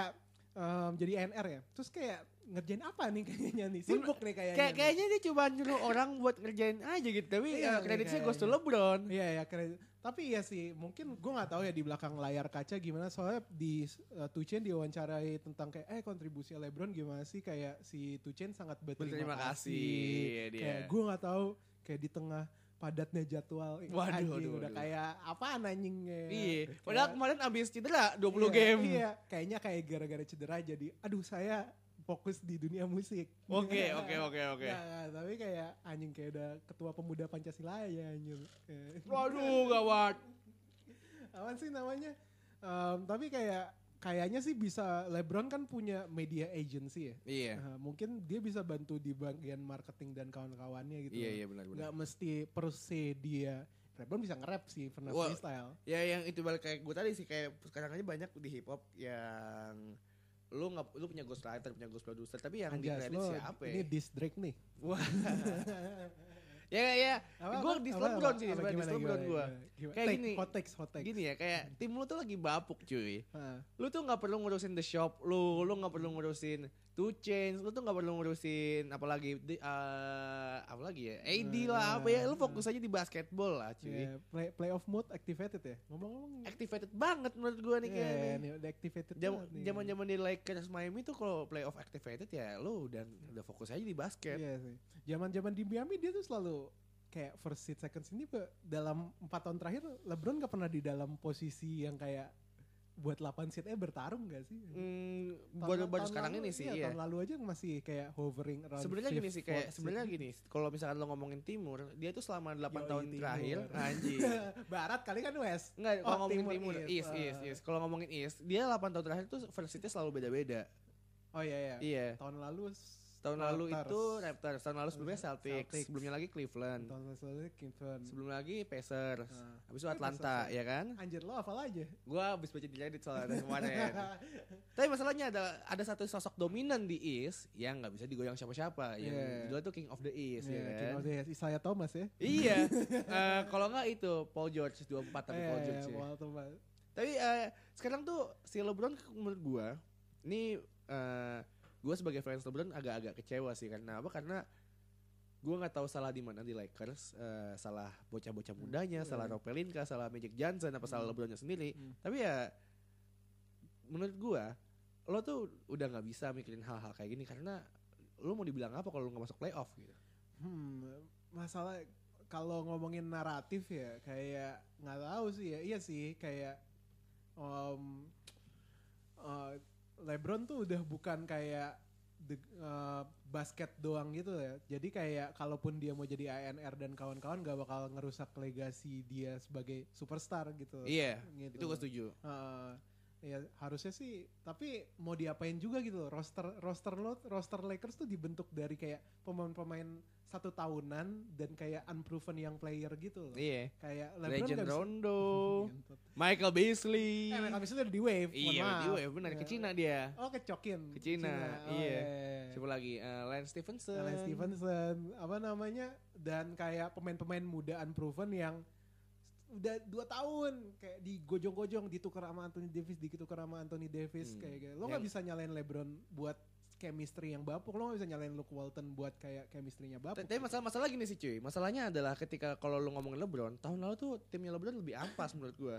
jadi NR ya. Terus kayak ngerjain apa nih kayaknya nih? Sibuk nih kayaknya. Kayaknya dia cuma nyuruh orang buat ngerjain aja gitu. Tapi kreditnya goes to LeBron. Iya kredit. Tapi iya sih, mungkin gue nggak tahu ya di belakang layar kaca gimana. Soalnya di 2 Chainz diwawancarai tentang kayak kontribusi LeBron gimana sih, kayak si 2 Chainz sangat berterima kasih. Kayak gue nggak tahu kayak di tengah padatnya jadwal. Waduh. Udah kayak apaan anjingnya. Iya. Padahal kemarin abis cedera 20 game. Iya. Kayaknya kayak gara-gara cedera jadi aduh saya fokus di dunia musik. Oke. Nah, tapi kayak anjing kayak udah ketua pemuda Pancasila ya anjing. Waduh gawat. Apaan sih namanya? Tapi kayaknya sih bisa, LeBron kan punya media agency ya. Iya. Mungkin dia bisa bantu di bagian marketing dan kawan-kawannya gitu. Iya benar. Gak mesti per se dia. LeBron bisa nge-rap sih, pernah freestyle. Ya yang itu balik kayak gue tadi sih, kayak sekarang aja banyak di hip hop yang lu punya ghostwriter, punya ghost producer, tapi yang di kredit siapa ya? Ini diss Drake nih. Wah. Ya. Gue di LeBron sih, sebenarnya di LeBron gue. Kayak gini. Hot takes. Gini ya, kayak tim lu tuh lagi bapuk cuy. Lu tuh nggak perlu ngurusin The Shop, lu nggak perlu ngurusin 2 Chainz, lu tuh nggak perlu ngurusin apalagi ya, AD lah apa ya, lu fokus aja di basketball lah cuy. Yeah, playoff mode activated ya. Ngomong-ngomong. Activated banget menurut gue nih kayaknya. Iya, udah activated. Zaman di Lakers Miami tuh kalau playoff activated ya lu udah fokus aja di basket. Iya sih. Zaman di Miami dia tuh selalu kayak first seed, second seed. Ini dalam 4 tahun terakhir LeBron gak pernah di dalam posisi yang kayak buat 8 seed bertarung gak sih? Baru sekarang ini sih. Iya. Tahun lalu aja masih kayak hovering around. Sebenarnya gini, kalau misalkan lo ngomongin timur, dia tuh selama 8 tahun terakhir anjing. Barat kali kan West. Enggak, kalau ngomongin timur, East. Kalau ngomongin East, dia 8 tahun terakhir tuh first seed-nya selalu beda-beda. Oh iya. Iya. Tahun lalu itu Raptors, tahun lalu sebelumnya Celtics, sebelumnya lagi Cleveland, sebelum lagi Pacers, habis itu Atlanta, ya kan? Anjir lo hafal aja. Gua habis baca di Reddit soalnya kemarin. Tapi masalahnya ada satu sosok dominan di East yang nggak bisa digoyang siapa-siapa, yang judulnya tuh King of the East, ya kan? King of the East, Isaiah Thomas ya? Iya. Kalau nggak itu Paul George 24 tapi Paul George. Tapi sekarang tuh si LeBron menurut gua ini gue sebagai fans LeBron agak-agak kecewa sih. Karena apa? Karena gue nggak tahu salah di mana di Lakers, salah bocah-bocah mudanya, salah Rob Pelinka, salah Magic Johnson, apa salah LeBronnya sendiri. Tapi ya menurut gue lo tuh udah nggak bisa mikirin hal-hal kayak gini, karena lo mau dibilang apa kalau lo nggak masuk playoff gitu. Masalah kalau ngomongin naratif ya kayak nggak tahu sih ya. Iya sih kayak LeBron tuh udah bukan kayak basket doang gitu ya. Jadi kayak kalaupun dia mau jadi ANR dan kawan-kawan gak bakal ngerusak legasi dia sebagai superstar gitu. Iya, gitu. Itu gue setuju. Ya harusnya sih, tapi mau diapain juga gitu. Roster Lakers tuh dibentuk dari kayak pemain-pemain 1 tahunan dan kayak unproven young player gitu loh. Iya. Kayak Legend Rondo, Michael Beasley. Michael Beasley udah di Wave. Iya, di Wave benar, ke Cina dia. Oh, ke Cina. Iya. Siapa lagi? Lance Stephenson. Apa namanya? Dan kayak pemain-pemain muda unproven yang udah 2 tahun kayak digojong-gojong, ditukar sama Anthony Davis, kayak gitu. Lo nggak bisa nyalain LeBron buat chemistry yang bapuk, lo gak bisa nyalain Luke Walton buat kayak chemistry-nya bapuk. Tapi masalah gini sih cuy, masalahnya adalah ketika kalau lo ngomongin LeBron, tahun lalu tuh timnya LeBron lebih ampas menurut gue.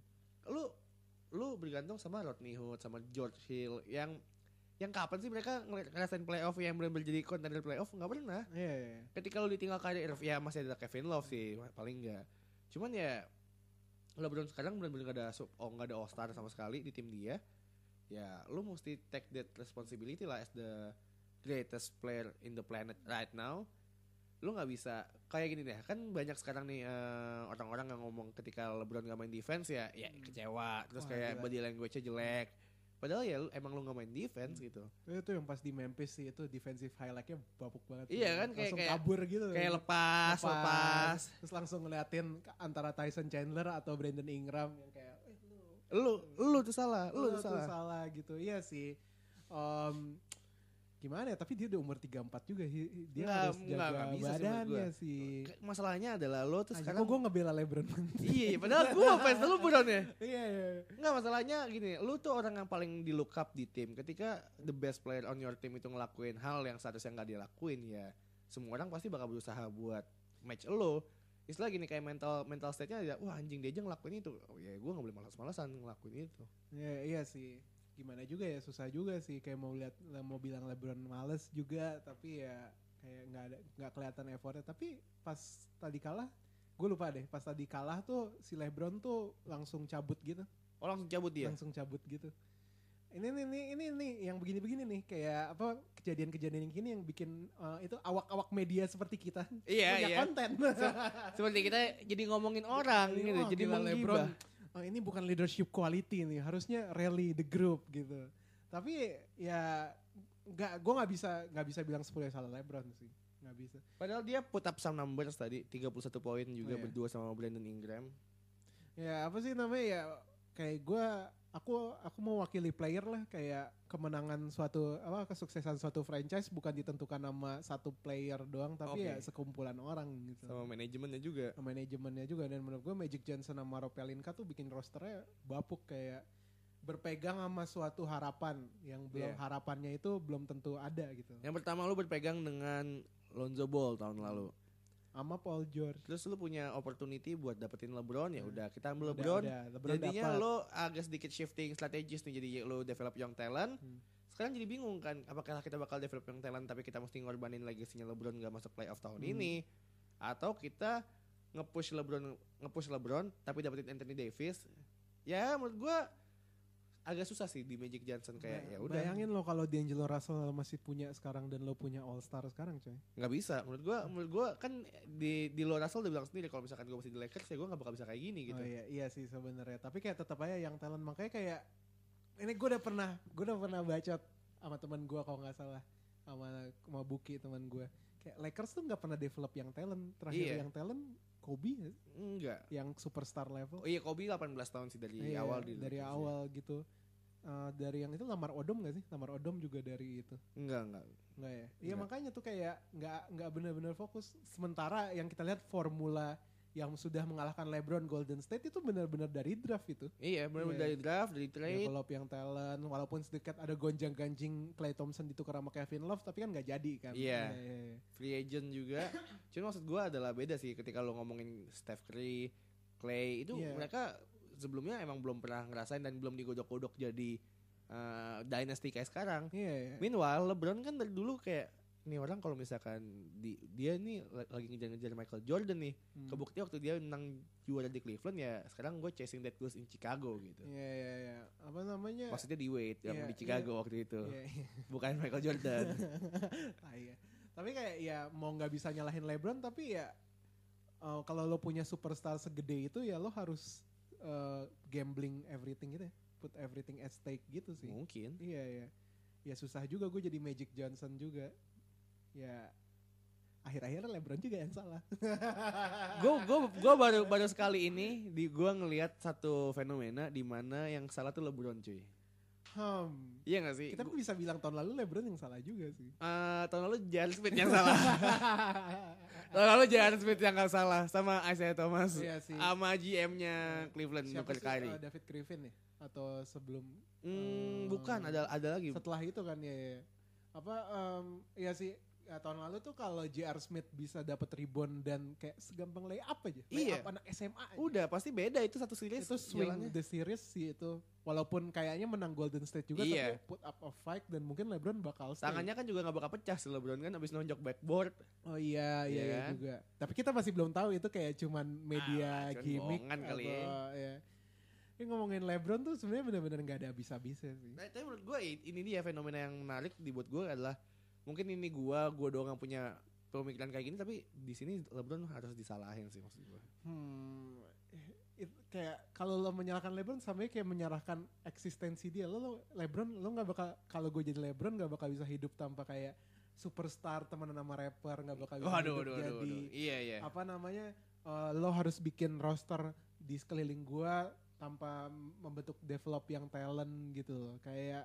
Lo bergantung sama Rodney Hood, sama George Hill, yang kapan sih mereka ngerasain playoff yang benar-benar jadi contender playoff? Nggak pernah. Yeah. Ketika lo ditinggal Kyrie Irving, ya masih ada Kevin Love sih paling nggak. Cuman ya LeBron sekarang benar-benar nggak ada All Star sama sekali di tim dia. Ya lu mesti take that responsibility lah as the greatest player in the planet right now. Lu gak bisa kayak gini deh, kan banyak sekarang nih orang-orang yang ngomong ketika LeBron gak main defense ya kecewa, terus kayak gila. Body language-nya jelek. Padahal ya emang lu gak main defense gitu. Itu yang pas di Memphis sih, itu defensive highlight-nya bapuk banget. Iya kan, kayak kabur gitu. Kayak lepas. Terus langsung ngeliatin antara Tyson Chandler atau Brandon Ingram yang kayak lu tuh salah, lu tuh salah gitu. Iya sih. gimana ya, tapi dia udah umur 34 juga. Dia harus jaga badannya sih. Masalahnya adalah lo tuh sekarang. Kok gue ngebela LeBron. Iya, padahal gue fans LeBron ya. Iya. Enggak, masalahnya gini, lu tuh orang yang paling di look up di tim. Ketika the best player on your team itu ngelakuin hal yang seharusnya gak dia lakuin, ya semua orang pasti bakal berusaha buat match lo. Istilah gini, kayak mental state-nya ya, wah anjing dia aja ngelakuin itu. Oh ya gue gak boleh malas-malasan ngelakuin itu. Iya sih. Gimana juga ya, susah juga sih, kayak mau bilang LeBron males juga, tapi ya kayak nggak kelihatan effortnya. Tapi pas tadi kalah, gue lupa deh, pas tadi kalah tuh si LeBron tuh langsung cabut gitu. Oh langsung cabut dia? Langsung cabut gitu. Ini yang begini-begini nih, kayak apa, kejadian-kejadian yang gini yang bikin itu awak-awak media seperti kita punya konten. Seperti kita jadi ngomongin orang gitu, jadi menggibah. Ini bukan leadership quality nih, harusnya rally the group gitu. Tapi ya gue nggak bisa bilang 10 salah LeBron sih, nggak bisa. Padahal dia put up some numbers tadi, 31 poin juga berdua sama Brandon Ingram. Ya apa sih namanya ya, kayak aku mau wakili player lah, kayak kemenangan kesuksesan suatu franchise bukan ditentukan sama satu player doang, tapi ya sekumpulan orang gitu. Sama manajemennya juga. Dan menurut gue Magic Johnson sama Rob Pelinka tuh bikin rosternya bapuk, kayak berpegang sama suatu harapan yang belum harapannya itu belum tentu ada gitu. Yang pertama lu berpegang dengan Lonzo Ball tahun lalu. Sama Paul George. Terus lu punya opportunity buat dapetin LeBron, ya udah kita ambil LeBron. Jadinya lo agak sedikit shifting strategis nih, jadi lo develop young talent. Sekarang jadi bingung kan, apakah kita bakal develop young talent tapi kita mesti ngorbanin legasinya LeBron gak masuk playoff tahun ini, atau kita nge-push LeBron tapi dapetin Anthony Davis. Ya menurut gua agak susah sih di Magic Johnson, kayak ya udah. Bayangin lo kalau D'Angelo Russell masih punya sekarang dan lo punya All Star sekarang, coy. Nggak bisa. Menurut gua kan di lo Russell udah bilang sendiri kalau misalkan gua masih di Lakers ya gua nggak bakal bisa kayak gini gitu. Oh iya sih sebenarnya. Tapi kayak tetap aja yang talent, makanya kayak ini gue udah pernah bacot sama teman gue kalau nggak salah, sama Buki teman gue. Kayak Lakers tuh nggak pernah develop yang talent. Terakhir yang talent Kobe ya? Enggak. Yang superstar level. Oh iya, Kobe 18 tahun sih dari awal dari awal gitu. Dari yang itu Lamar Odom gak sih? Lamar Odom juga dari itu. Enggak ya. Iya makanya tuh kayak nggak benar-benar fokus. Sementara yang kita lihat formula yang sudah mengalahkan LeBron Golden State itu benar-benar dari draft itu. Iya, benar-benar dari draft, dari trade. Develop yang talent, walaupun sedikit ada gonjang-ganjing Klay Thompson ditukar sama Kevin Love, tapi kan nggak jadi kan. Iya. Free agent juga. Cuma maksud gue adalah beda sih ketika lo ngomongin Steph Curry, Klay itu mereka sebelumnya emang belum pernah ngerasain dan belum digodok-godok jadi dynasty kayak sekarang. Meanwhile LeBron kan dari dulu kayak, ini orang kalau misalkan dia nih lagi ngejar-ngejar Michael Jordan nih, kebukti waktu dia menang juara di Cleveland, ya sekarang gue chasing that goals in Chicago gitu. Iya. Apa namanya? Maksudnya di Wade yang di Chicago waktu itu. Bukan Michael Jordan. Tapi kayak ya mau nggak bisa nyalahin LeBron, tapi ya kalau lo punya superstar segede itu ya lo harus gambling everything gitu ya. Put everything at stake gitu sih. Mungkin. Iya. Ya susah juga gue jadi Magic Johnson juga. Ya akhir-akhirnya LeBron juga yang salah. Gue baru sekali ini gue ngelihat satu fenomena di mana yang salah tuh LeBron, cuy. Iya gak sih? Kita bisa bilang tahun lalu LeBron yang salah juga sih. Tahun lalu J.R. Smith yang salah. Tahun lalu J.R. Smith yang gak salah sama Isaiah Thomas. Iya sih. Sama GM-nya Cleveland, Nuker Kyrie. David Griffin ya? Atau sebelum? Bukan, ada lagi. Setelah itu kan ya. Iya sih. Ya, tahun lalu tuh kalau J.R. Smith bisa dapat rebound dan kayak segampang layup aja. Layup anak SMA aja. Udah pasti beda itu satu series. Itu swing the series sih itu. Walaupun kayaknya menang Golden State juga, tapi put up a fight dan mungkin LeBron bakal stay. Tangannya kan juga gak bakal pecah sih LeBron kan abis nonjok backboard. Oh iya kan? Juga. Tapi kita masih belum tahu itu kayak cuman media gimmick kali ya. Ini ngomongin LeBron tuh sebenarnya benar-benar gak ada habis-habisnya sih. Nah, tapi menurut gue ini dia fenomena yang menarik dibuat gue adalah, mungkin ini gue doang yang punya pemikiran kayak gini, tapi di sini LeBron harus disalahin sih maksud gue. Kayak kalau lo menyalahkan LeBron sama kayak menyalahkan eksistensi dia. LeBron lo nggak bakal, kalau gue jadi LeBron nggak bakal bisa hidup tanpa kayak superstar temenan sama rapper, nggak bakal bisa jadi. Iya. Apa namanya? Lo harus bikin roster di sekeliling gue tanpa membentuk develop yang talent gitu loh. Kayak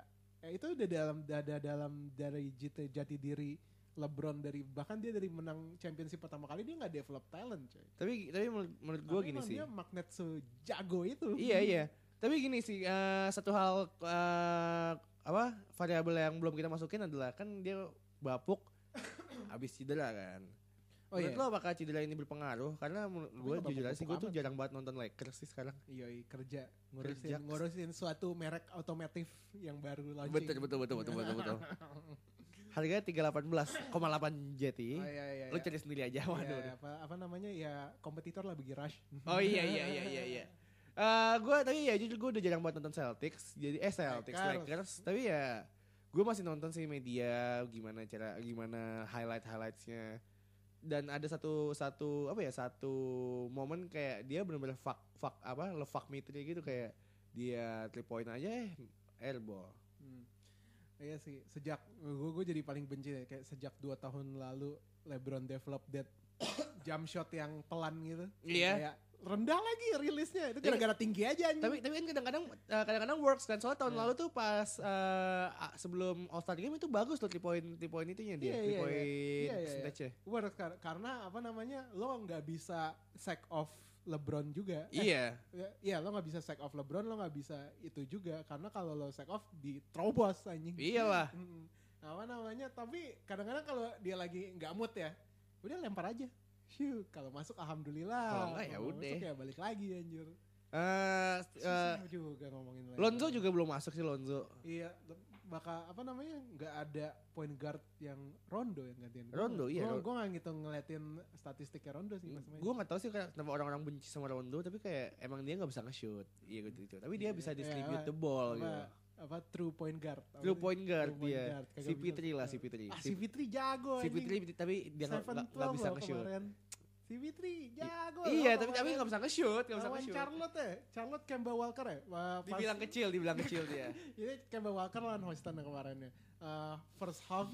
itu udah dalam dari jati diri LeBron, dari bahkan dia dari menang championship pertama kali dia nggak develop talent, coy. Tapi menurut gue gini sih. Dia magnet sejago itu. Iya. Tapi gini sih, satu hal variabel yang belum kita masukin adalah kan dia bapuk habis cedera kan. Menurut lo apakah cedera ini berpengaruh? Karena gue jujur aja sih, gue tuh jarang banget nonton Lakers sih sekarang. Iya, kerja ngurusin suatu merek otomotif yang baru launching. Betul. Harganya 318,8 jeti. Iya. Lu cari sendiri aja. Waduh. Ya, apa namanya ya, kompetitor lah bagi Rush. Oh iya. Gue tapi ya jujur gue udah jarang banget nonton Celtics. Jadi Lakers. Tapi ya gue masih nonton sih media gimana highlightsnya. Dan ada satu momen kayak dia benar-benar fuck me gitu, kayak dia 3 point aja airball. Iya sih, sejak gue jadi paling benci deh, kayak sejak 2 tahun lalu LeBron develop that jump shot yang pelan gitu. Iya. Kayak rendah lagi rilisnya, itu gara-gara tinggi aja anjing. Tapi kan kadang-kadang works kan, soalnya tahun lalu tuh pas sebelum All Star Game itu bagus loh 3 point itunya dia, 3 point percentage-nya. Works karena lo nggak bisa sack off LeBron juga. Iya, lo gak bisa sack off LeBron, lo gak bisa itu juga. Karena kalau lo sack off di terobos anjing. Iyalah. Tapi kadang-kadang kalau dia lagi gak mood ya, udah lempar aja. Kalau masuk alhamdulillah. Kalau enggak ya udah. Masuk ya balik lagi anjir. Juga ngomongin lagi. Lonzo juga belum masuk sih Lonzo. Iya, bakal nggak ada point guard yang Rondo yang gantiin. Rondo iya. Gue nggak gitu ngeliatin statistiknya Rondo sih. Gue nggak tahu sih kenapa orang-orang benci sama Rondo, tapi kayak emang dia nggak bisa nge-shoot. Iya gitu. Tapi dia bisa distribute the ball gitu. True point guard. True point guard dia. CP3 lah CP3. CP3 jago. CP3 tapi dia nggak bisa nge-shoot. CP3 jago. Iya, tapi nggak bisa nge-shoot, Charlotte Kemba Walker ya. Dibilang kecil dia. Ini Kemba Walker lawan Houston kemarin ya. First half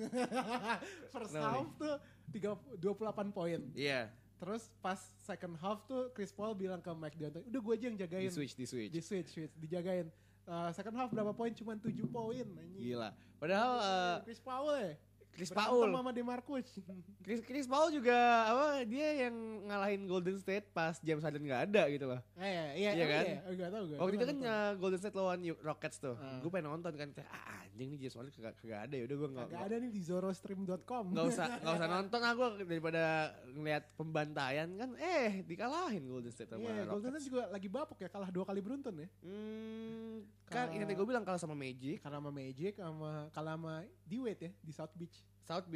tuh 28 poin. Iya. Terus pas second half tuh Chris Paul bilang ke Mike D'Antoni, udah gue aja yang jagain. Di switch. Dijagain. Second half berapa poin? Cuma 7 poin. Gila. Padahal Chris Paul ya. Chris Paul sama DeMarcus. Chris Paul juga dia yang ngalahin Golden State pas James Harden nggak ada gitu loh. Iya kan? Enggak tahu gue. Waktu itu kan Golden State lawan Rockets tuh. Gue pengen nonton kan, anjing nih James Harden kagak ada ya udah gue nggak ada nih di zorostream.com. Nggak usah nonton gue daripada ngeliat pembantaian kan dikalahin Golden State sama Rockets. Golden State juga lagi bapuk ya, kalah 2 kali beruntun ya. Kan ini gue bilang kalah sama Magic. Kalah sama D-Wade ya di South Beach.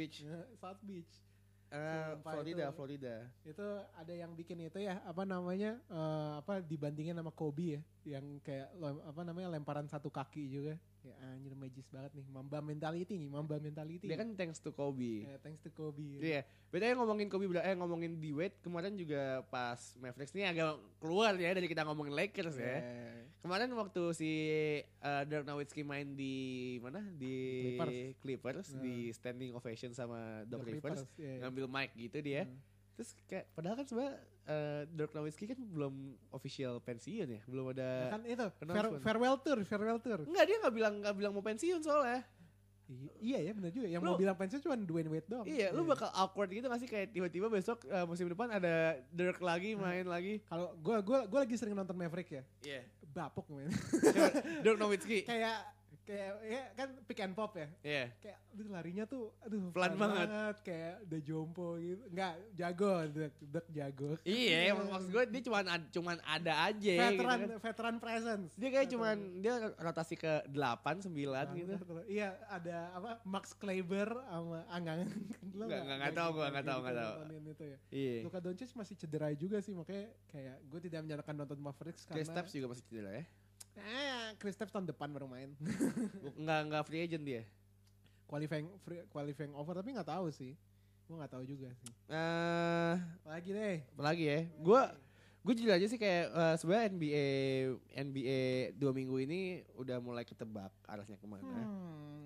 Florida. Itu ada yang bikin itu ya, dibandingin sama Kobe ya, yang kayak lemparan satu kaki juga. Ya anjir, magis banget nih, Mamba mentality. Dia kan thanks to Kobe. Thanks to Kobe. Iya. Bedanya ngomongin Kobe ngomongin D-Wade kemarin juga pas Mavericks ini agak keluar ya dari kita ngomongin Lakers ya. Kemarin waktu si Dirk Nowitzki main di mana? Di Clippers di standing ovation sama Doc Rivers, ngambil mic gitu dia. Terus kayak padahal kan sebenarnya Dirk Nowitzki kan belum official pensiun ya, belum ada. Kan itu farewell tour. Enggak, dia nggak bilang mau pensiun soalnya. Iya ya, benar juga. Yang mau bilang pensiun cuma Dwayne Wade doang. Iya, lu bakal awkward gitu nggak sih, kayak tiba-tiba besok musim depan ada Dirk lagi main lagi. Kalau gue lagi sering nonton Maverick ya. Iya. Bapuk main. Dirk Nowitzki. Kayak ya kan pick and pop ya. Iya. Kayak larinya tuh pelan banget. Kayak udah jompo gitu. Enggak, jago, Dirk jago. Iya, maksud gue dia cuman ada aja veteran presence. Dia kayak dia rotasi ke 8 9 gitu. Iya, ada Max Kleber sama Anggang. Enggak tahu. Itu ya. Iya. Luka Doncic masih cedera juga sih, makanya kayak gue tidak menyarankan nonton Mavericks karena Kristaps juga masih cedera ya. Kristaps tahun depan baru main. Enggak free agent dia. Qualifying over, tapi nggak tahu sih. Gue nggak tahu juga sih. Apalagi ya. Gue jujur aja sih kayak sebenarnya NBA 2 minggu ini udah mulai ketebak arahnya kemana.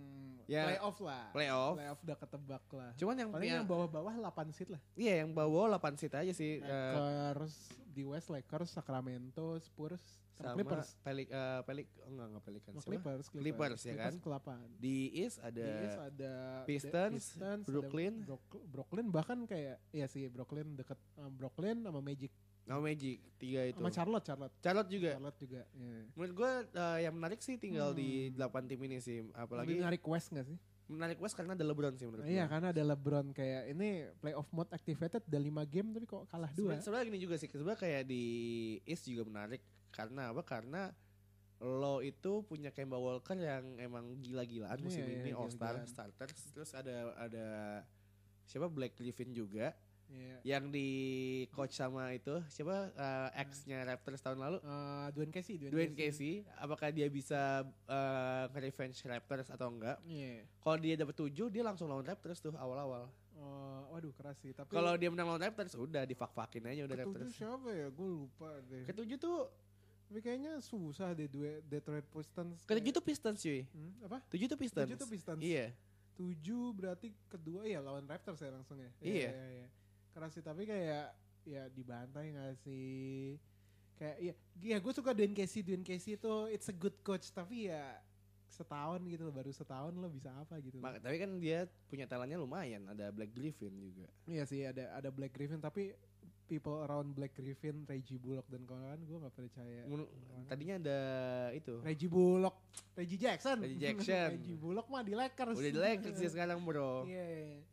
Ya, playoff lah. Playoff Udah ketebak lah. Cuman paling yang bawah-bawah 8 seed lah. Iya, yang bawah 8 seed aja sih. Lakers di West, Lakers, Sacramento, Spurs, sama Clippers. Enggak Pelicans. Clippers ya kan. Clippers ke-8. Di East ada Pistons, Brooklyn. Brooklyn bahkan kayak Brooklyn deket Brooklyn sama Magic. Magic 3 itu. Sama Charlotte juga. Yeah. Menurut gue yang menarik sih tinggal di 8 tim ini sih. Apalagi menarik West gak sih? Menarik West karena ada LeBron sih menurut gue. Iya, karena ada LeBron kayak ini playoff mode activated udah 5 game tapi kok kalah 2. Sebenarnya gini juga sih. Sebenarnya kayak di East juga menarik karena apa? Karena lo itu punya Kemba Walker yang emang gila-gilaan musim ini All-Star starters. Terus ada siapa Blake Griffin juga. Yeah. Yang di coach sama itu siapa ex-nya Raptors tahun lalu Dwayne Casey. Apakah dia bisa revenge Raptors atau enggak? Kalau dia dapat 7 dia langsung lawan Raptors tuh awal-awal. Waduh keras sih. Tapi kalau dia menang lawan Raptors udah difak-fakin aja udah Raptors. Siapa ya? Gue lupa deh. Ke-7 tuh tapi kayaknya susah deh Detroit Pistons. Ke-7 tuh Pistons cuy. Apa? 7 tuh Pistons. Iya. 7 berarti kedua ya lawan Raptors ya langsung ya. Iya. Keras sih tapi kayak ya dibantai gak sih, kayak ya gue suka Dwayne Casey itu it's a good coach tapi ya setahun gitu loh, baru setahun lo bisa apa gitu. Tapi kan dia punya talentnya lumayan, ada Black Griffin juga. Iya sih ada Black Griffin tapi people around Black Griffin, Reggie Bullock dan kawan-kawan gue gak percaya. Tadinya ada itu Reggie Jackson Reggie Bullock mah di Lakers. Udah di Lakers sih sekarang bro. Iya.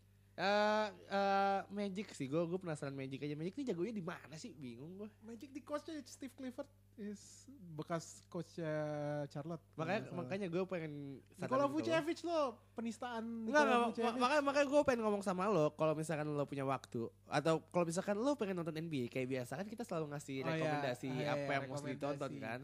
Magic sih, gue penasaran Magic aja. Magic ini jagonya di mana sih? Bingung gue. Magic di coachnya Steve Clifford, bekas coachnya Charlotte. Makanya gue pengen. Nikola Vucevic lo penistaan. Makanya gue pengen ngomong sama lo. Kalau misalkan lo punya waktu atau kalau misalkan lo pengen nonton NBA kayak biasa kan kita selalu ngasih rekomendasi apa yang mesti ditonton kan.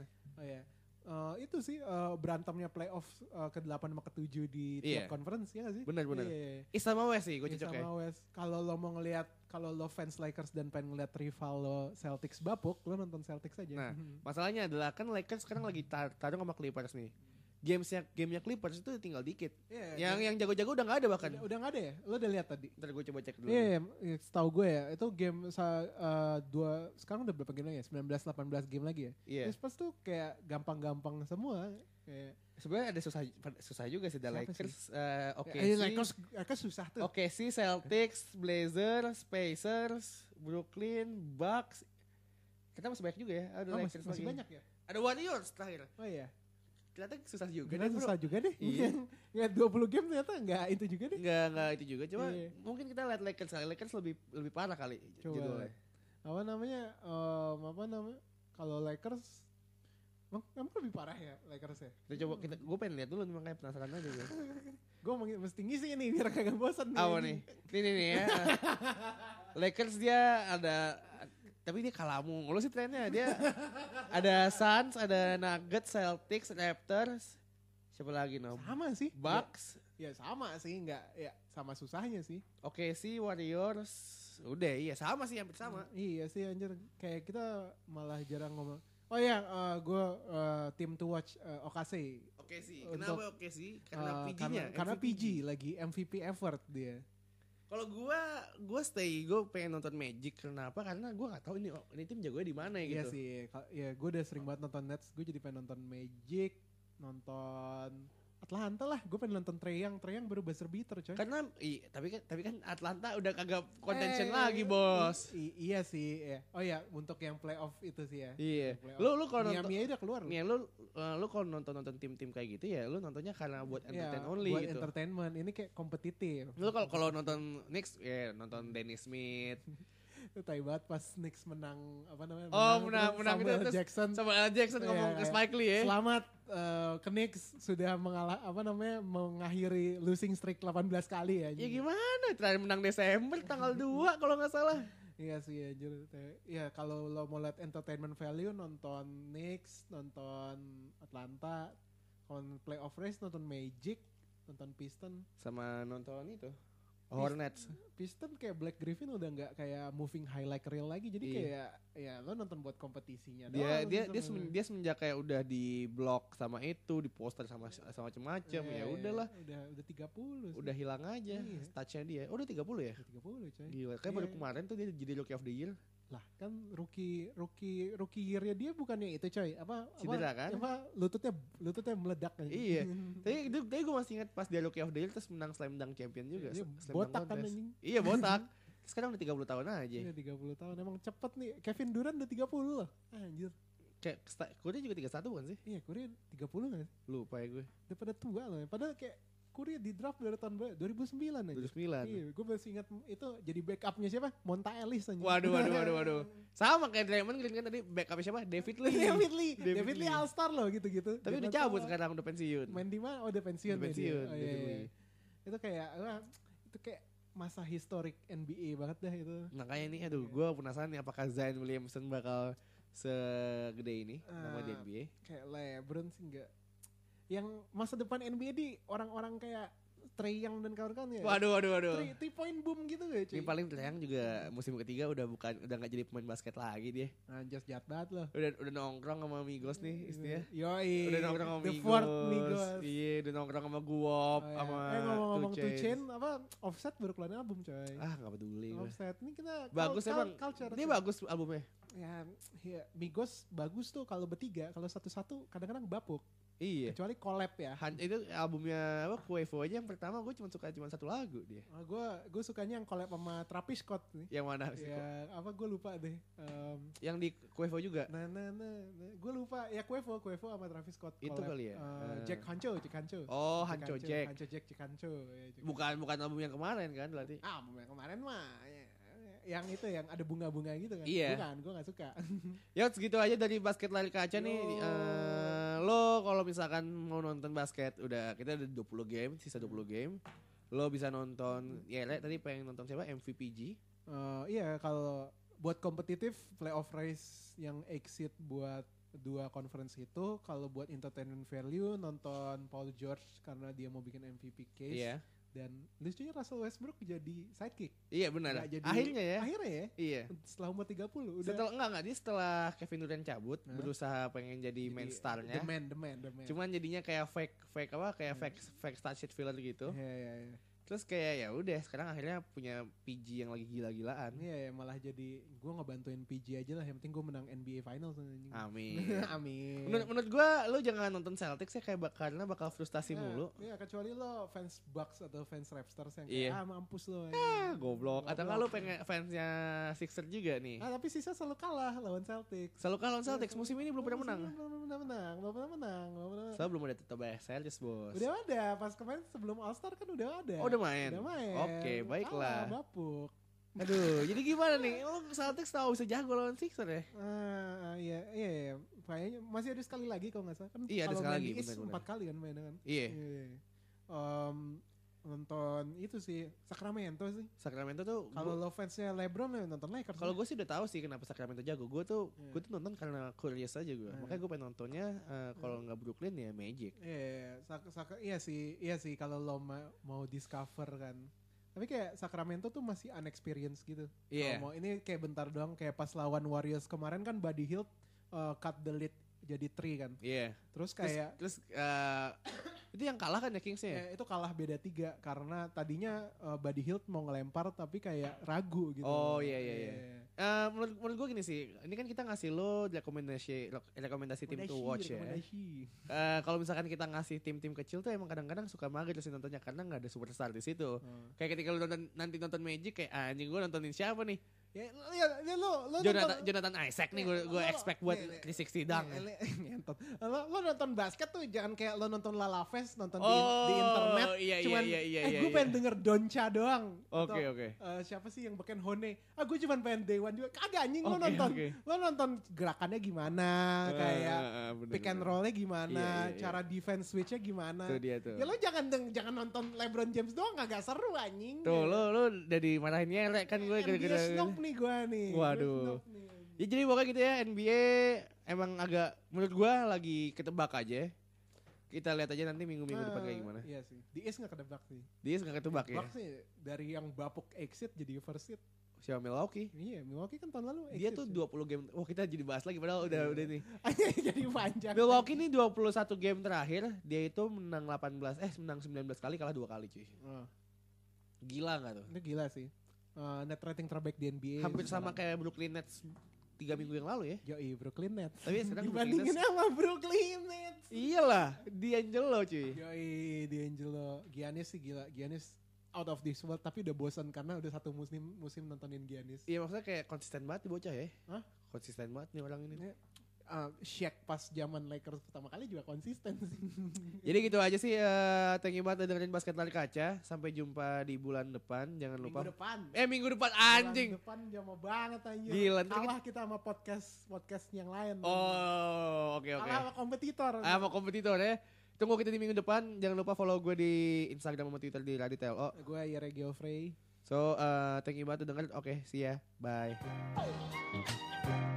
Itu sih berantemnya playoff ke-8 sama ke-7 di tiap conference ya gak sih? Bener. East sama West sih gue cocok ya. Kalau lo mau ngelihat, kalau lo fans Lakers dan pengen ngeliat rival lo Celtics bapuk, lo nonton Celtics aja. Nah, masalahnya adalah kan Lakers sekarang lagi tarung sama Clippers nih. Gamenya Clippers itu tinggal dikit. Yang jago-jago udah gak ada bahkan. Udah gak ada ya? Lo udah lihat tadi? Ntar gue coba cek dulu. Iya, setahu gue ya, itu game sekarang udah berapa game lagi ya? 19-18 game lagi ya? Iya. Terus tuh kayak gampang-gampang semua. Sebenarnya ada susah juga sih, ada Lakers. Lakers susah tuh. OKC, Celtics, Blazers, Pacers, Brooklyn, Bucks. Kita masih banyak juga ya. Ada Lakers masih banyak ya? Ada Warriors terakhir. Oh iya. Ternyata susah juga deh. Susah juga deh. Iya. Nggak 20 game ternyata nggak itu juga deh. Nggak itu juga. Cuma mungkin kita lihat Lakers lebih parah kali. Coba. Apa namanya? Kalau Lakers, emang lebih parah ya Lakers ya? Gue pengen lihat dulu makanya penasaran aja gue. Gue mesti ngisi nih biar kagak bosan. Apa nih? Ini nih ya. Lakers dia ada. Tapi dia kalah mulu sih trennya. Dia ada Suns, ada Nuggets, Celtics, Raptors. Siapa lagi Sama sih. Bucks. Ya sama sih, enggak ya sama susahnya sih. OKC, Warriors. Udah iya sama sih, hampir sama. Iya sih anjir, kayak kita malah jarang ngomong. Oh iya, gue team to watch OKC. Kenapa OKC? Karena PG-nya. Karena PG lagi MVP effort dia. Kalau gue pengen nonton Magic. Kenapa? Karena gue nggak tahu ini tim jagonya di mana ya gitu. Iya sih, ya gue udah sering banget nonton Nets. Gue jadi pengen nonton Magic, nonton Atlanta lah. Gue pengen nonton Trae Young baru buzzer beater coy. Karena tapi kan Atlanta udah kagak contention lagi bos. Iya sih. Ya. Oh ya untuk yang playoff itu sih ya. Iya. Lu kalau nonton Miami udah keluar. Nih lu kalau nonton tim-tim kayak gitu ya lu nontonnya karena buat entertain only buat gitu. Entertainment. Ini kayak kompetitif. Lu kalau nonton Knicks ya nonton Dennis Smith. Itu tai banget pas Knicks menang apa namanya? Menang Samuel Jackson. Samuel Jackson ngomong ke Spike Lee ya. Selamat ke Knicks sudah mengakhiri losing streak 18 kali ya. Ya gimana? Terakhir menang Desember tanggal 2 kalau nggak salah. Iya sih anjir. Ya kalau lo mau lihat entertainment value nonton Knicks, nonton Atlanta, kalau playoff race nonton Magic, nonton Piston sama nonton itu Hornets. Piston kayak Black Griffin udah nggak kayak moving highlight reel lagi, jadi kayak ya lo nonton buat kompetisinya. Dia semenjak kayak udah di blok sama itu, di poster sama macam-macam, ya udahlah. Udah 30. Udah hilang aja touch-nya dia. Oh, udah 30 ya? 30 coy. Gila, kayak baru kemarin tuh dia jadi Rookie of the Year. Lah kan rookie year-nya dia bukannya itu coy, Cedera kan? Lututnya meledak kan. Iya. Tapi gue masih ingat pas dia Rookie of the Year terus menang Slam Dunk Champion juga. Botak kan anjing. Iya, botak. Sekarang udah 30 tahun aja. Iya 30 tahun, emang cepet nih. Kevin Durant udah 30 loh. Anjir. Kayak Curry juga 31 bukan sih? Iya, Curry 30 kan? Lupa ya gue. Udah pada tua loh. Padahal kayak Curry di draft dari tahun 2009 aja. 2009. Iya, gue masih ingat itu jadi backupnya siapa? Monta Ellis aja. Waduh. Sama kayak Draymond Green kan tadi backupnya siapa? David Lee All Star loh gitu-gitu. Tapi udah cabut sekarang, udah pensiun. Main di mana? Oh, udah pensiun. Udah pensiun. Oh, iya. Itu kayak masa historik NBA banget dah itu. Makanya nih, gue penasaran nih apakah Zion Williamson bakal segede ini nama di NBA. Kayak LeBron sih enggak. Yang masa depan NBA di orang-orang kayak Trae Young dan kawan-kawan ya. Waduh. 3 point boom gitu ya cuy. Ini paling Trae Young juga musim ketiga udah gak jadi pemain basket lagi dia. Just jahat banget loh. Udah nongkrong sama Migos nih istinya. Yoi. Udah nongkrong sama Migos. Iya, udah nongkrong sama Guwop sama ngomong-ngomong 2 Chainz Offset baru keluarin album coy. Gak peduli gue. Offset ini kita bagus emang. Dia bagus albumnya. Ya, Migos bagus tuh kalau bertiga, kalau satu-satu kadang-kadang bapuk. Iya. Kecuali collab ya. Itu albumnya Quavo aja yang pertama gue suka satu lagu dia. Gue sukanya yang collab sama Travis Scott nih. Yang mana sih? Ya gue lupa deh. Yang di Quavo juga. Gue lupa ya Quavo sama Travis Scott. Itu collab. kali ya. Jack Hancho. Oh, Hancho Jack. Jack Hancho. Bukan album yang kemarin kan berarti. Album yang kemarin mah. Yang itu yang ada bunga-bunga gitu kan. Iya. Bukan, gue gak suka. Ya segitu aja dari basket lari kaca nih. Lo kalau misalkan mau nonton basket, kita ada 20 game, sisa 20 game. Lo bisa nonton, tadi pengen nonton siapa? MVPG. Iya, kalau buat kompetitif playoff race yang exit buat 2 conference itu, kalau buat entertainment value nonton Paul George karena dia mau bikin MVP case. Iya. Dan lucunya Russell Westbrook jadi sidekick. Iya benar. Akhirnya ya. Iya. Setelah umur 30 udah. Setelah Kevin Durant cabut, berusaha pengen jadi main starnya. The man. Cuman jadinya kayak fake star shit filler gitu. Iya. Terus kayak ya udah sekarang akhirnya punya PG yang lagi gila-gilaan. Iya, malah jadi gue ngebantuin PG aja lah, yang penting gue menang NBA Finals. Amin. Amin. Menurut gue lo jangan nonton Celtics ya karena bakal frustasi mulu. Iya, kecuali lo fans Bucks atau fans Raptors yang kayak mampus lo. Goblok. Atau nggak lo pengen fansnya Sixers juga nih? Tapi sisa selalu kalah lawan Celtics. Musim ini belum pernah menang. Belum pernah menang. Soalnya belum ada Tobias Harris bos. Udah ada, pas kemarin sebelum All Star kan udah ada. Udah main. Oke, baiklah. Bapuk. Aduh, jadi gimana nih? Lo Celtics tahu bisa jago lawan Sixers ya? Iya. Kayaknya masih ada sekali lagi kalau nggak salah. Kan iya, ada sekali lagi. Benar. 4 kali kan mainnya kan? Iya. Nonton itu sih Sacramento tuh kalau lo fansnya LeBron ya nonton Lakers. Kalau gue sih udah tahu sih kenapa Sacramento jago. Gue tuh nonton karena curious aja gue. Makanya gue pengen nontonnya kalau nggak Brooklyn ya Magic. Iya sih kalau lo mau discover kan. Tapi kayak Sacramento tuh masih unexperienced gitu. Iya. Ini kayak bentar doang, kayak pas lawan Warriors kemarin kan Buddy Hield cut the lead jadi 3 kan. Iya. Terus kayak itu yang kalah kan ya Kings-nya? Itu kalah beda 3 karena tadinya Buddy Hield mau ngelempar tapi kayak ragu gitu. Oh iya. Menurut gue gini sih, ini kan kita ngasih lo rekomendasi tim to watch ya. Kalau misalkan kita ngasih tim-tim kecil tuh emang kadang-kadang suka mager sih nontonnya karena nggak ada superstar di situ. Kayak ketika lo nanti nonton Magic kayak anjing gue nontonin siapa nih? Ya lo Jonathan Isaac nih gue expect buat 360 dunk. Lo nonton basket tuh jangan kayak lo nonton Lala Fest nonton di internet. Cuman gue pengen denger Doncha doang. Oke. Siapa sih yang beken Hone? Gue cuman pengen Day One juga. Kagak anjing lo nonton gerakannya gimana, kayak pick and rollnya gimana, cara defense switchnya gimana. Tuh dia tuh. Ya lo jangan nonton LeBron James doang, kagak seru anjing. Tuh lo udah dimarahin nyelek kan gue gara-gara nih gue nih. Waduh. Ya jadi pokoknya gitu ya NBA emang agak menurut gue lagi ketebak aja. Kita lihat aja nanti minggu-minggu depan kayak gimana. Iya sih. Di East gak ketebak sih. Di East gak ketebak ya? Ketebak sih dari yang bapuk exit jadi first seed. Siapa Milwaukee? Iya, Milwaukee kan tahun lalu exit. Dia tuh 20 game. Oh kita jadi bahas lagi padahal udah nih. Jadi panjang. Milwaukee nih 21 game terakhir dia itu menang 19 kali kalah 2 kali cuy. Gila gak tuh? Ini gila sih. Net rating terbaik di NBA. Hampir sama kayak Brooklyn Nets 3 minggu yang lalu ya. Yoi, Brooklyn Nets. Tapi sekarang dibandingin sama Brooklyn Nets. Iyalah, D'Angelo cuy. Yoi, D'Angelo. Giannis sih gila. Giannis out of this world tapi udah bosan karena udah satu musim nontonin Giannis. Iya maksudnya kayak konsisten banget nih bocah ya. Hah? Konsisten banget nih orang ini. Shaq pas zaman Lakers pertama kali juga konsisten sih. Jadi gitu aja sih. Thank you banget udah dengerin Basket Lari Kaca. Sampai jumpa di bulan depan. Jangan lupa. Minggu depan anjing. Bulan depan jauh banget anjing. Gila. Kalah kita sama podcast yang lain. Oh oke. Kalah sama kompetitor. Sama kompetitor ya. Tunggu kita di minggu depan. Jangan lupa follow gue di Instagram sama Twitter di Raditelo. Gue Yere Geoffrey. So thank you banget udah dengerin. Oke, see ya. Bye.